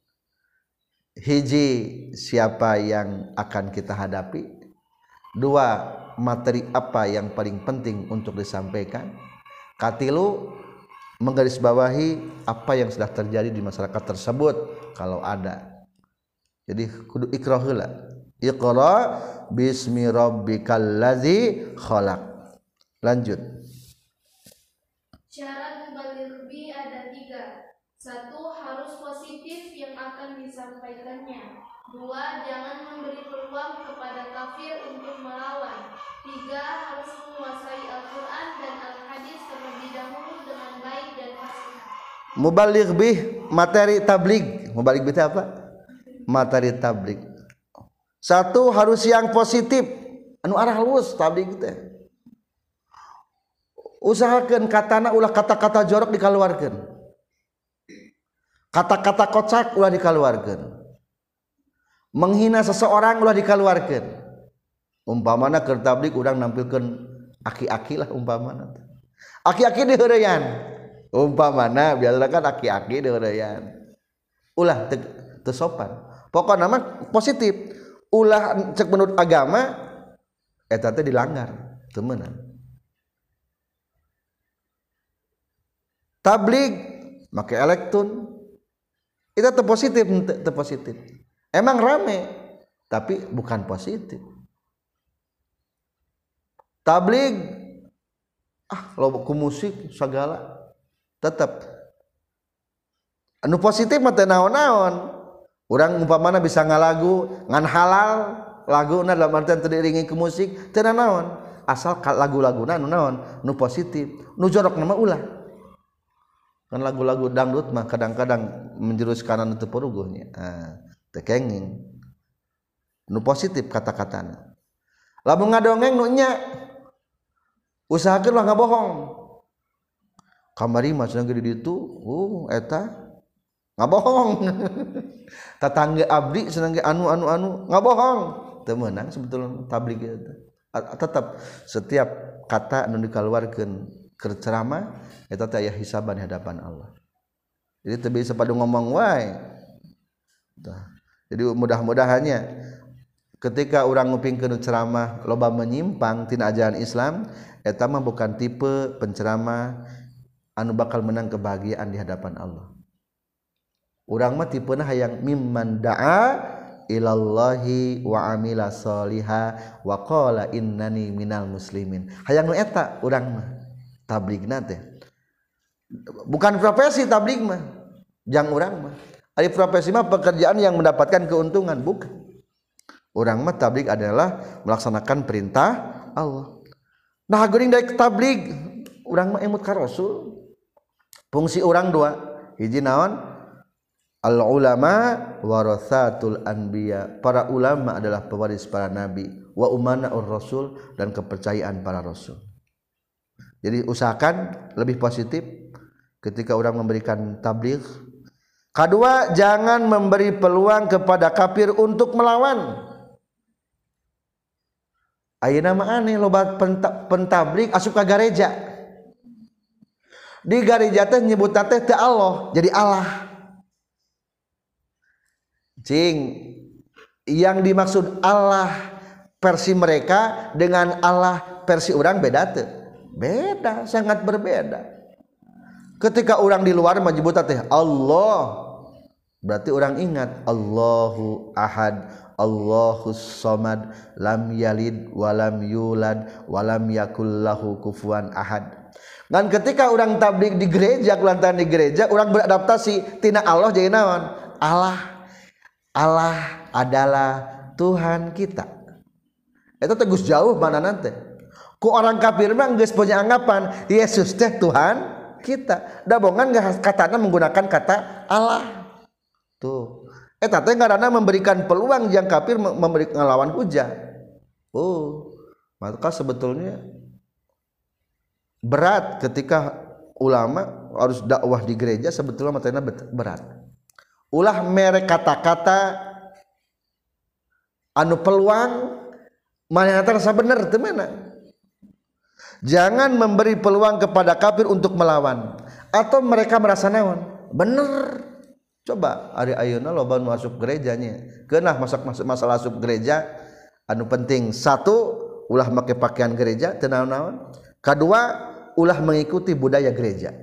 Speaker 1: Hiji, siapa yang akan kita hadapi? Dua, materi apa yang paling penting untuk disampaikan? Katilu, menggarisbawahi apa yang sudah terjadi di masyarakat tersebut kalau ada. Jadi kudu iqra heula. Iqra bismi rabbikal ladzi khalaq. Lanjut.
Speaker 3: Syarat mubaligh bi ada tiga. Satu, harus positif yang akan disampaikannya. Dua, jangan memberi peluang kepada kafir untuk melawan. Tiga, harus menguasai Al-Quran dan Al-Hadis terlebih dahulu dengan baik dan fasih.
Speaker 1: Mubaligh bih materi tabligh. Mubaligh bih itu apa? Materi tabligh. Satu, harus yang positif. Anu arah lurus tabligh teh. Usahakeun katana ulah kata-kata jorok dikeluarkeun. Kata-kata kocak ulah dikeluarkeun. Menghina seseorang ulah dikeluarkeun. Umpamana keur tabligh urang nampilkeun aki-aki lah umpamana. Aki-aki di heureuyan. Umpamana biasana kan aki-aki di heureuyan. Ulah teu sopan. Pokona mah positif. Ulah cek menurut agama eta teh dilanggar, teu meunang. Tabligh make elektron itu teu positif, teu positif. Emang rame tapi bukan positif. Tabligh ah loba ku musik sagala tetap anu positif mah teu naon-naon. Urang umpamana bisa ngalagu ngan halal laguna dalam artian teriringi ke musik teu naon asal lagu-laguna nu naon nu positif nu jorok nama ulah kan lagu-lagu dangdut mah kadang-kadang menjurus kana nu teu puruguhnya ah teu kenging nu positif kata-katana lamun ngadongeng nu nya usahakeun lah ngabohong kamari mah cenah di ditu uh eta ngabohong tatangga abdi cenah ge anu anu anu ngabohong teu meunang sebetulna tabligh eta tetap setiap kata nu dikaluarkeun keur ceramah eta teh aya hisaban di hadapan Allah jadi teu bisa padu ngomong wae jadi mudah-mudahannya ketika orang ngupingkeun ceramah loba menyimpang tina ajaran Islam eta mah bukan tipe penceramah anu bakal menang kebahagiaan di hadapan Allah. Urang mah tipena hayang mimman da'a ilallahi wa amila sholiha wa qala innani minal muslimin. Hayang nu eta urang mah tabligna teh. Bukan profesi tabligh mah. Jang urang mah. Ari profesi mah pekerjaan yang mendapatkan keuntungan, bukan. Urang mah tabligh adalah melaksanakan perintah Allah. Nah geuning dari tabligh urang mah emut ka Rasul. Fungsi urang dua, hiji naon? Al ulama warathatul anbiya. Para ulama adalah pewaris para nabi, wa umana ur rasul dan kepercayaan para rasul. Jadi usahakan lebih positif ketika orang memberikan tabligh. Kedua, jangan memberi peluang kepada kafir untuk melawan. Ayeuna mah aneh loba pentabligh asup ka gareja. Di gareja teh nyebut teh teu Allah, jadi Allah. Cing, yang dimaksud Allah versi mereka dengan Allah versi orang beda teu? Beda, sangat berbeda. Ketika orang di luar menyebut teh Allah, berarti orang ingat Allahu Ahad, Allahus Samad, lam yalid walam yulad walam yakul lahu kufuwan ahad. Dan ketika orang tabligh di gereja, kulantaran di gereja, orang beradaptasi tina Allah jadi naon? Allah, Allah adalah Tuhan kita. Itu tegus jauh mana nanti? Ku orang kafir mah geus punya anggapan Yesus teh Tuhan kita. Da bongan gak katana menggunakan kata Allah. Tuh. Eta teh ngaranna memberikan peluang yang kafir memberi ngelawan hujah. Oh, maka sebetulnya berat ketika ulama harus dakwah di gereja sebetulnya materinya berat. Ulah merek kata-kata anu peluang mana terasa bener teu mana. Jangan memberi peluang kepada kafir untuk melawan atau mereka merasa naon? Bener. Coba ari ayeuna loba nu masuk gerejanya. Keunah masak-masak masalah asup gereja anu penting satu ulah make pakaian gereja teu naon-naon. Kedua ulah mengikuti budaya gereja.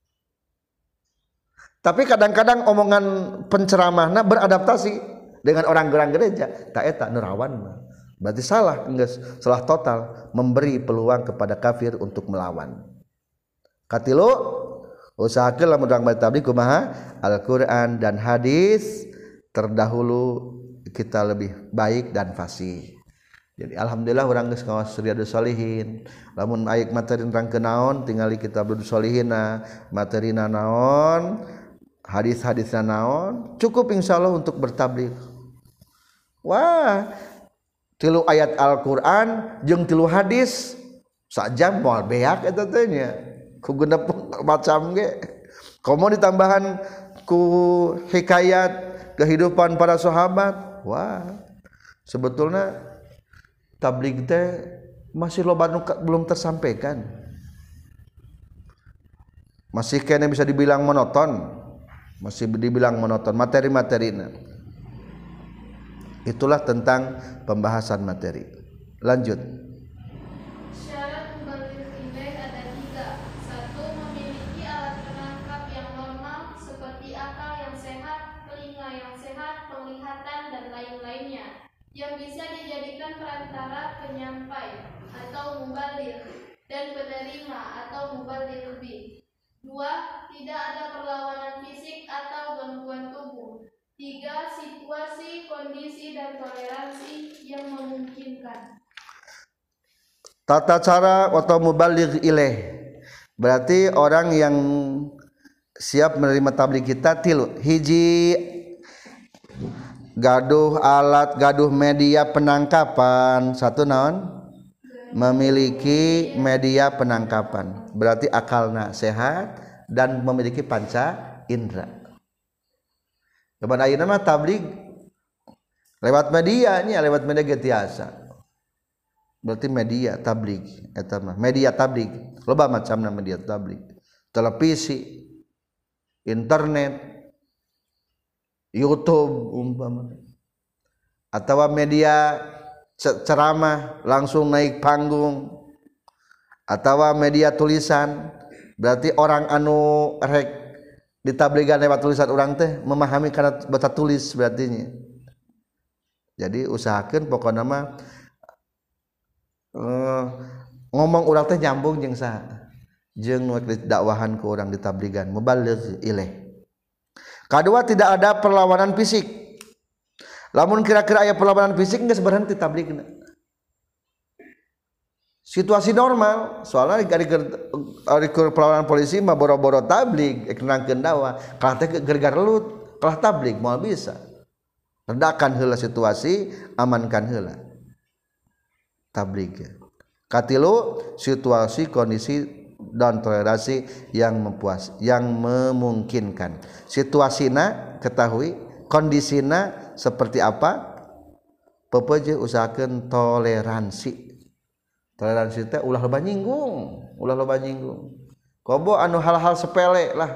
Speaker 1: Tapi kadang-kadang omongan penceramahna beradaptasi dengan orang-orang gereja. Tak eta nerawan mah. Berarti salah, geus salah total memberi peluang kepada kafir untuk melawan. Katilu usahakeun lamun urang bari tabligh kumaha? Al-Qur'an dan hadis terdahulu kita lebih baik dan fasih. Jadi alhamdulillah urang geus ngaos Riyadhus Shalihin. Lamun aya materi nerangkeun naon tingali Kitabul Sholihina, materina naon, hadis-hadisna naon, cukup insyaallah untuk bertabligh. Wah, tilu ayat Al-Qur'an jeung tilu hadis sajam moal beak eta teh nya. Ku genep macam ge. Komo ditambahan ku hikayat kehidupan para sahabat. Wah. Sebetulnya tabligh teh masih loba nu belum tersampaikan. Masih kene bisa dibilang monoton. Masih dibilang monoton materi-materina. Itulah tentang pembahasan materi. Lanjut.
Speaker 3: Syarat mubaligh indek ada tiga. Satu, memiliki alat penangkap yang normal seperti akal yang sehat, telinga yang sehat, penglihatan dan lain-lainnya yang bisa dijadikan perantara penyampai atau mubaligh dan penerima atau mubaligh lebih. Dua, tidak ada perlawanan fisik atau gangguan tubuh. Tiga, situasi, kondisi, dan toleransi yang memungkinkan.
Speaker 1: Tata cara atau mubaligh ilaih, berarti orang yang siap menerima tabligh kita tilu. Hiji, gaduh alat, gaduh media penangkapan. Satu naon? Memiliki media penangkapan, berarti akalna sehat dan memiliki panca indera. Kemudian ayeuna mah tabligh lewat media nya, lewat media getiasa. Berarti media tabligh eta mah, media tabligh. Loba macamna media tabligh. Televisi, internet, YouTube umpama. Atawa media ceramah langsung naik panggung. Atawa media tulisan, berarti orang anu rek ditabligan lewat tulisan orang teh memahami karena baca tulis berarti nya. Jadi usahakeun pokona mah uh, ngomong urang teh nyambung jeung saha jeung nu dakwahan ku urang ditabligan mubaligh ilaih. Kadua, tidak ada perlawanan fisik. Lamun kira-kira aya perlawanan fisik geus berhenti tabligna. Situasi normal, soalnya dari perlawanan polisi mah boro-boro tabligh kenangkeun dakwah, kalah teh gergar lelut, kalah tabligh moal bisa. Redakan heula situasi, amankan heula tabligh. Katilu, situasi, kondisi dan toleransi yang mempuas, yang memungkinkan. Situasina ketahui, kondisina seperti apa? Pepeje usahakeun toleransi. Toleransi teh ulah loba nyinggung, ulah loba nyinggung. Kobo anu hal-hal sepele lah.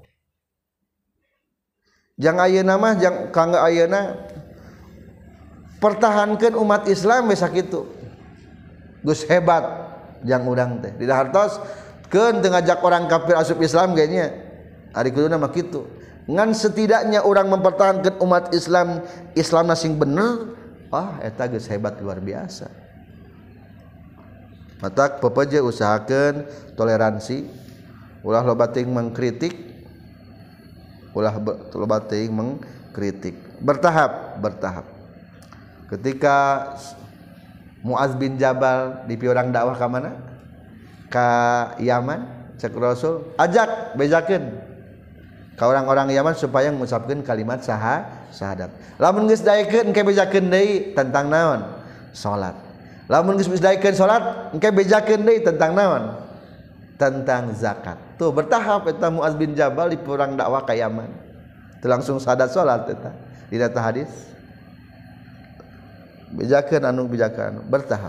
Speaker 1: Jang ayeuna mah jang kangge ayeuna pertahankeun umat Islam we sakitu. Geus hebat jang urang teh. Di hartos keun teu ngajak orang kafir asup Islam ge nya. Ari kuduna mah kitu. Ngan setidaknya orang mempertahankan umat Islam, Islam sing bener, ah eta geus hebat luar biasa. Matak pepeje usahakeun toleransi, ulah loba teuing mengkritik, ulah loba teuing mengkritik. Bertahap, bertahap. Ketika Muaz bin Jabal dipi urang dakwah ka mana? Ka Yaman, cek Rasul, ajak bejakeun ka orang-orang Yaman supaya mengucapkeun kalimat syahadat. Syahadat. Lamun geus daekeun engke bejakeun deui tentang naon? Salat. Lamun geus daekeun salat engke bejakeun deui tentang naon? Tentang zakat. Tuh bertahap eta Muaz bin Jabal di perang dakwah ka Yaman. Teu langsung syahadat salat eta. Di data hadis. Bejakeun anu bejakeun bertahap.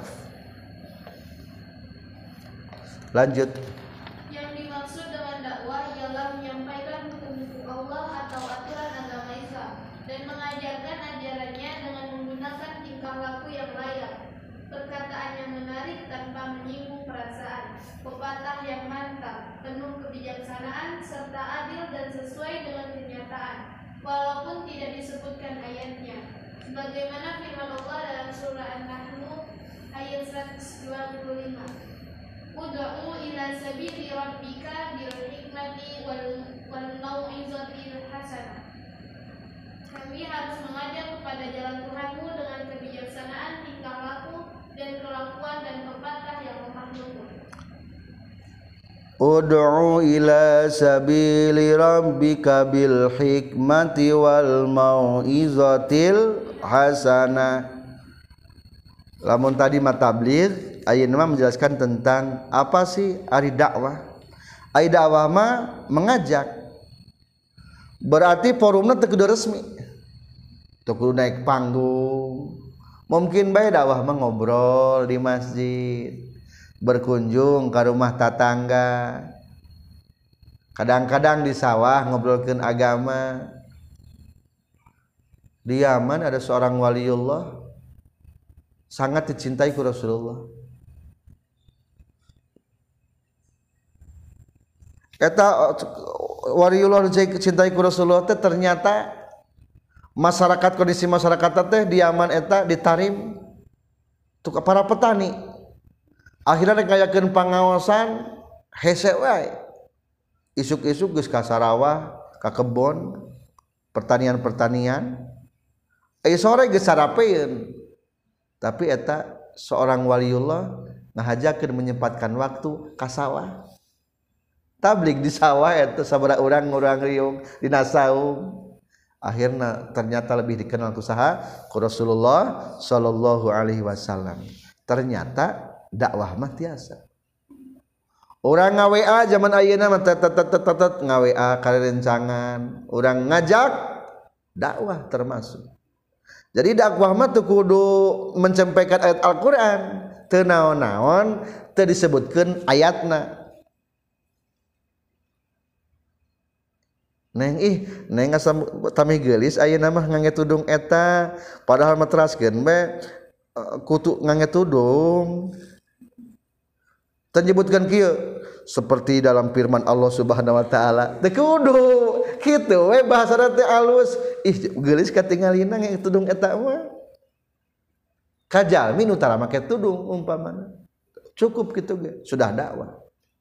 Speaker 1: Lanjut.
Speaker 3: Yang dimaksud dengan dakwah ialah menyampaikan hukum-hukum Allah atau aturan agama Islam dan mengajarkan ajarannya dengan menggunakan tingkah laku yang layak, perkataan yang menarik tanpa menyinggung perasaan, pepatah yang mantap, penuh kebijaksanaan, serta adil dan sesuai dengan kenyataan, walaupun tidak disebutkan ayatnya. Sebagaimana firman Allah dalam surah An-Nahl ayat seratus dua puluh lima. Ud'u ila sabili rabbika bil hikmati wal wal mau'izatil hasanah. Kami harus mengajak kepada jalan Tuhanmu dengan kebijaksanaan, tingkah laku, dan kelakuan dan pepatah yang lemah lembut.
Speaker 1: Ud'u ila sabili rabbika bil hikmati wal mau'izatil hasanah. Lamun tadi matabligh, ayeuna mah menjelaskan tentang apa sih ari dakwah. Ari dakwah mah mengajak. Berarti forumna teu kudu resmi. Teu kudu naik panggung. Mungkin bae dakwah mah ngobrol di masjid, berkunjung ke rumah tetangga. Kadang-kadang di sawah ngobrolkeun agama. Di Yaman ada seorang waliullah sangat dicintai ku Rasulullah. Eta waliullah dicintai ku Rasulullah teh ternyata masyarakat, kondisi masyarakat teh di Yaman eta ditarim untuk para petani. Akhirnya ngayakeun pangaosan hese wae. Isuk-isuk geus ka sarawah, ka kebon, pertanian-pertanian eh sore geus sarapeun tapi eta seorang waliullah ngahajakeun menyempatkan waktu ka sawah tablik di sawah eta sabaraha urang urang riung dina saum akhirna ternyata lebih dikenal ku saha ku Rasulullah sallallahu alaihi wasallam. Ternyata dakwah mah tiasa urang nga W A zaman ayeuna mah tet tet tet tet nga W A karencangan urang ngajak dakwah termasuk. Jadi dakwah mah teu kudu menyampaikan ayat Al-Qur'an teu naon-naon teu disebutkeun ayatna. Neng ih neng asam tamih geulis ayeuna mah ngangge tudung eta padahal mah teraskeun we kudu ngangge tudung teu nyebutkeun kieu seperti dalam firman Allah Subhanahu wa taala teu kudu kitu we bahasana teh alus ih geulis katingalina ngangge tudung eta mah kajalmi nu tara make tudung umpamana cukup kitu ge sudah dakwah.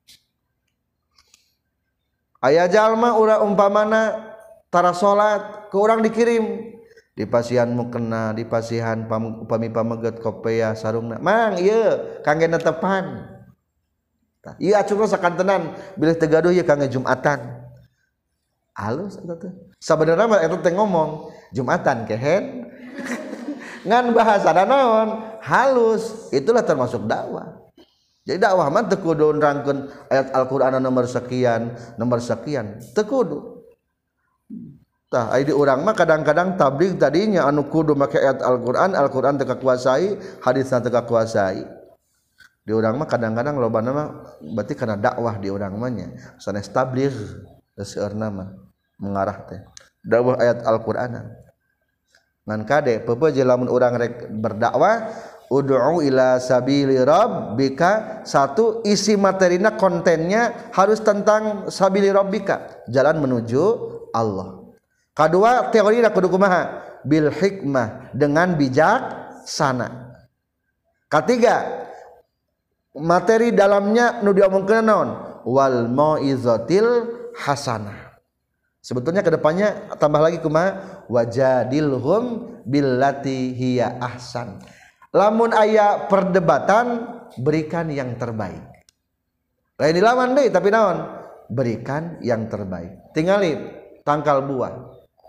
Speaker 1: Aya jalma urang umpamana tara salat ke urang dikirim di pasihan mukena di pasihan upami pameget kopea sarungna mang ieu kangge netepan tah ieu acungna sakantenan bilih teu gaduh ieu kangge Jumatan alus eta teh sabenerna mah eta teh ngomong Jumatan kehen ngan bahasana naon halus itulah termasuk dakwah. Jadi dakwah mah teu kudu nerangkeun ayat Al-Qur'an nomor sekian, nomor sekian, teu kudu. Tah aya di urang mah kadang-kadang tabligh tadinya anu kudu make ayat Al-Qur'an, Al-Qur'an teu kakuasai, hadisna teu kakuasai. Di urang mah kadang-kadang lobana mah berarti kana dakwah di urang mah nya. Sanes tabligh seueurna mah mengarah teh. Dakwah ayat Al-Qur'anan. Ngan kade peupeuje lamun urang rek berdakwah ud'u ila sabili rabbika satu isi materina kontennya harus tentang sabili rabbika jalan menuju Allah. Kedua teorina kudu kumaha bil hikmah dengan bijaksana. Ketiga materi dalamnya nu diomongkeun naon wal mau'izatil hasanah. Sebetulnya kedepannya tambah lagi kumaha wajadilhum billati hiya ahsan. Lamun aya perdebatan berikan yang terbaik. Lain dilawan deui tapi naon? Berikan yang terbaik. Tingali tangkal buah.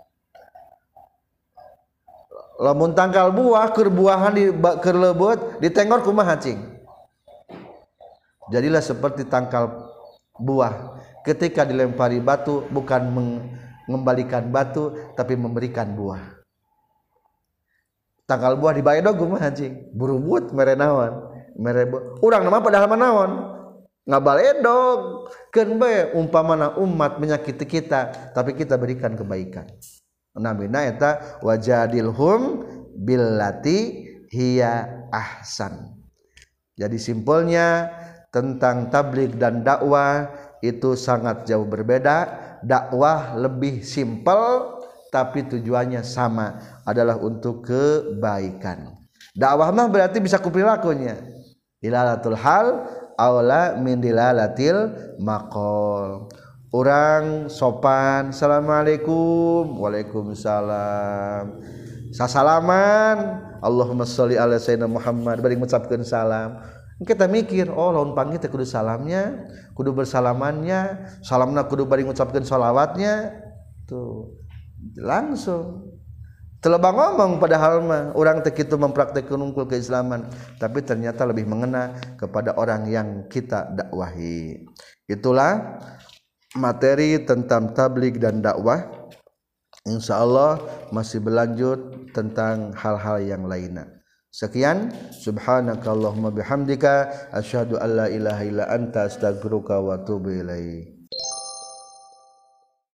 Speaker 1: Lamun tangkal buah keur buahan di keur leubeut ditengor kumaha cing? Jadilah seperti tangkal buah ketika dilempari batu bukan mengembalikan batu tapi memberikan buah. Tangkal buah dibaedog kumaha anjing burubut mere naon mere urang mah padahal mah naon ngabaledog keun bae umpamana umat menyakiti kita tapi kita berikan kebaikan namina eta wajadilhum billati hiya ahsan. Jadi simpelnya tentang tabligh dan dakwah itu sangat jauh berbeda. Dakwah lebih simpel tapi tujuannya sama adalah untuk kebaikan. Dakwah mah berarti bisa kuprilakunya. Dilalatul hal aula min dilalatil maqal. Urang sopan, assalamualaikum, waalaikumsalam. Sasalaman, Allahumma sholli ala sayyidina Muhammad, bari ngucapkeun salam. Kita mikir, oh laun panggil teh kudu salamnya, kudu bersalamannya, salamna kudu bari ngucapkeun shalawatnya. Tuh. Langsung telebang ngomong padahal mah orang teh kitu mempraktekkeun unggul keislaman tapi ternyata lebih mengena kepada orang yang kita dakwahi. Itulah materi tentang tabligh dan dakwah. Insyaallah masih berlanjut tentang hal-hal yang lainnya. Sekian subhanakallahumma bihamdika asyhadu alla ilaha illa anta astaghfiruka wa atubu ilaik.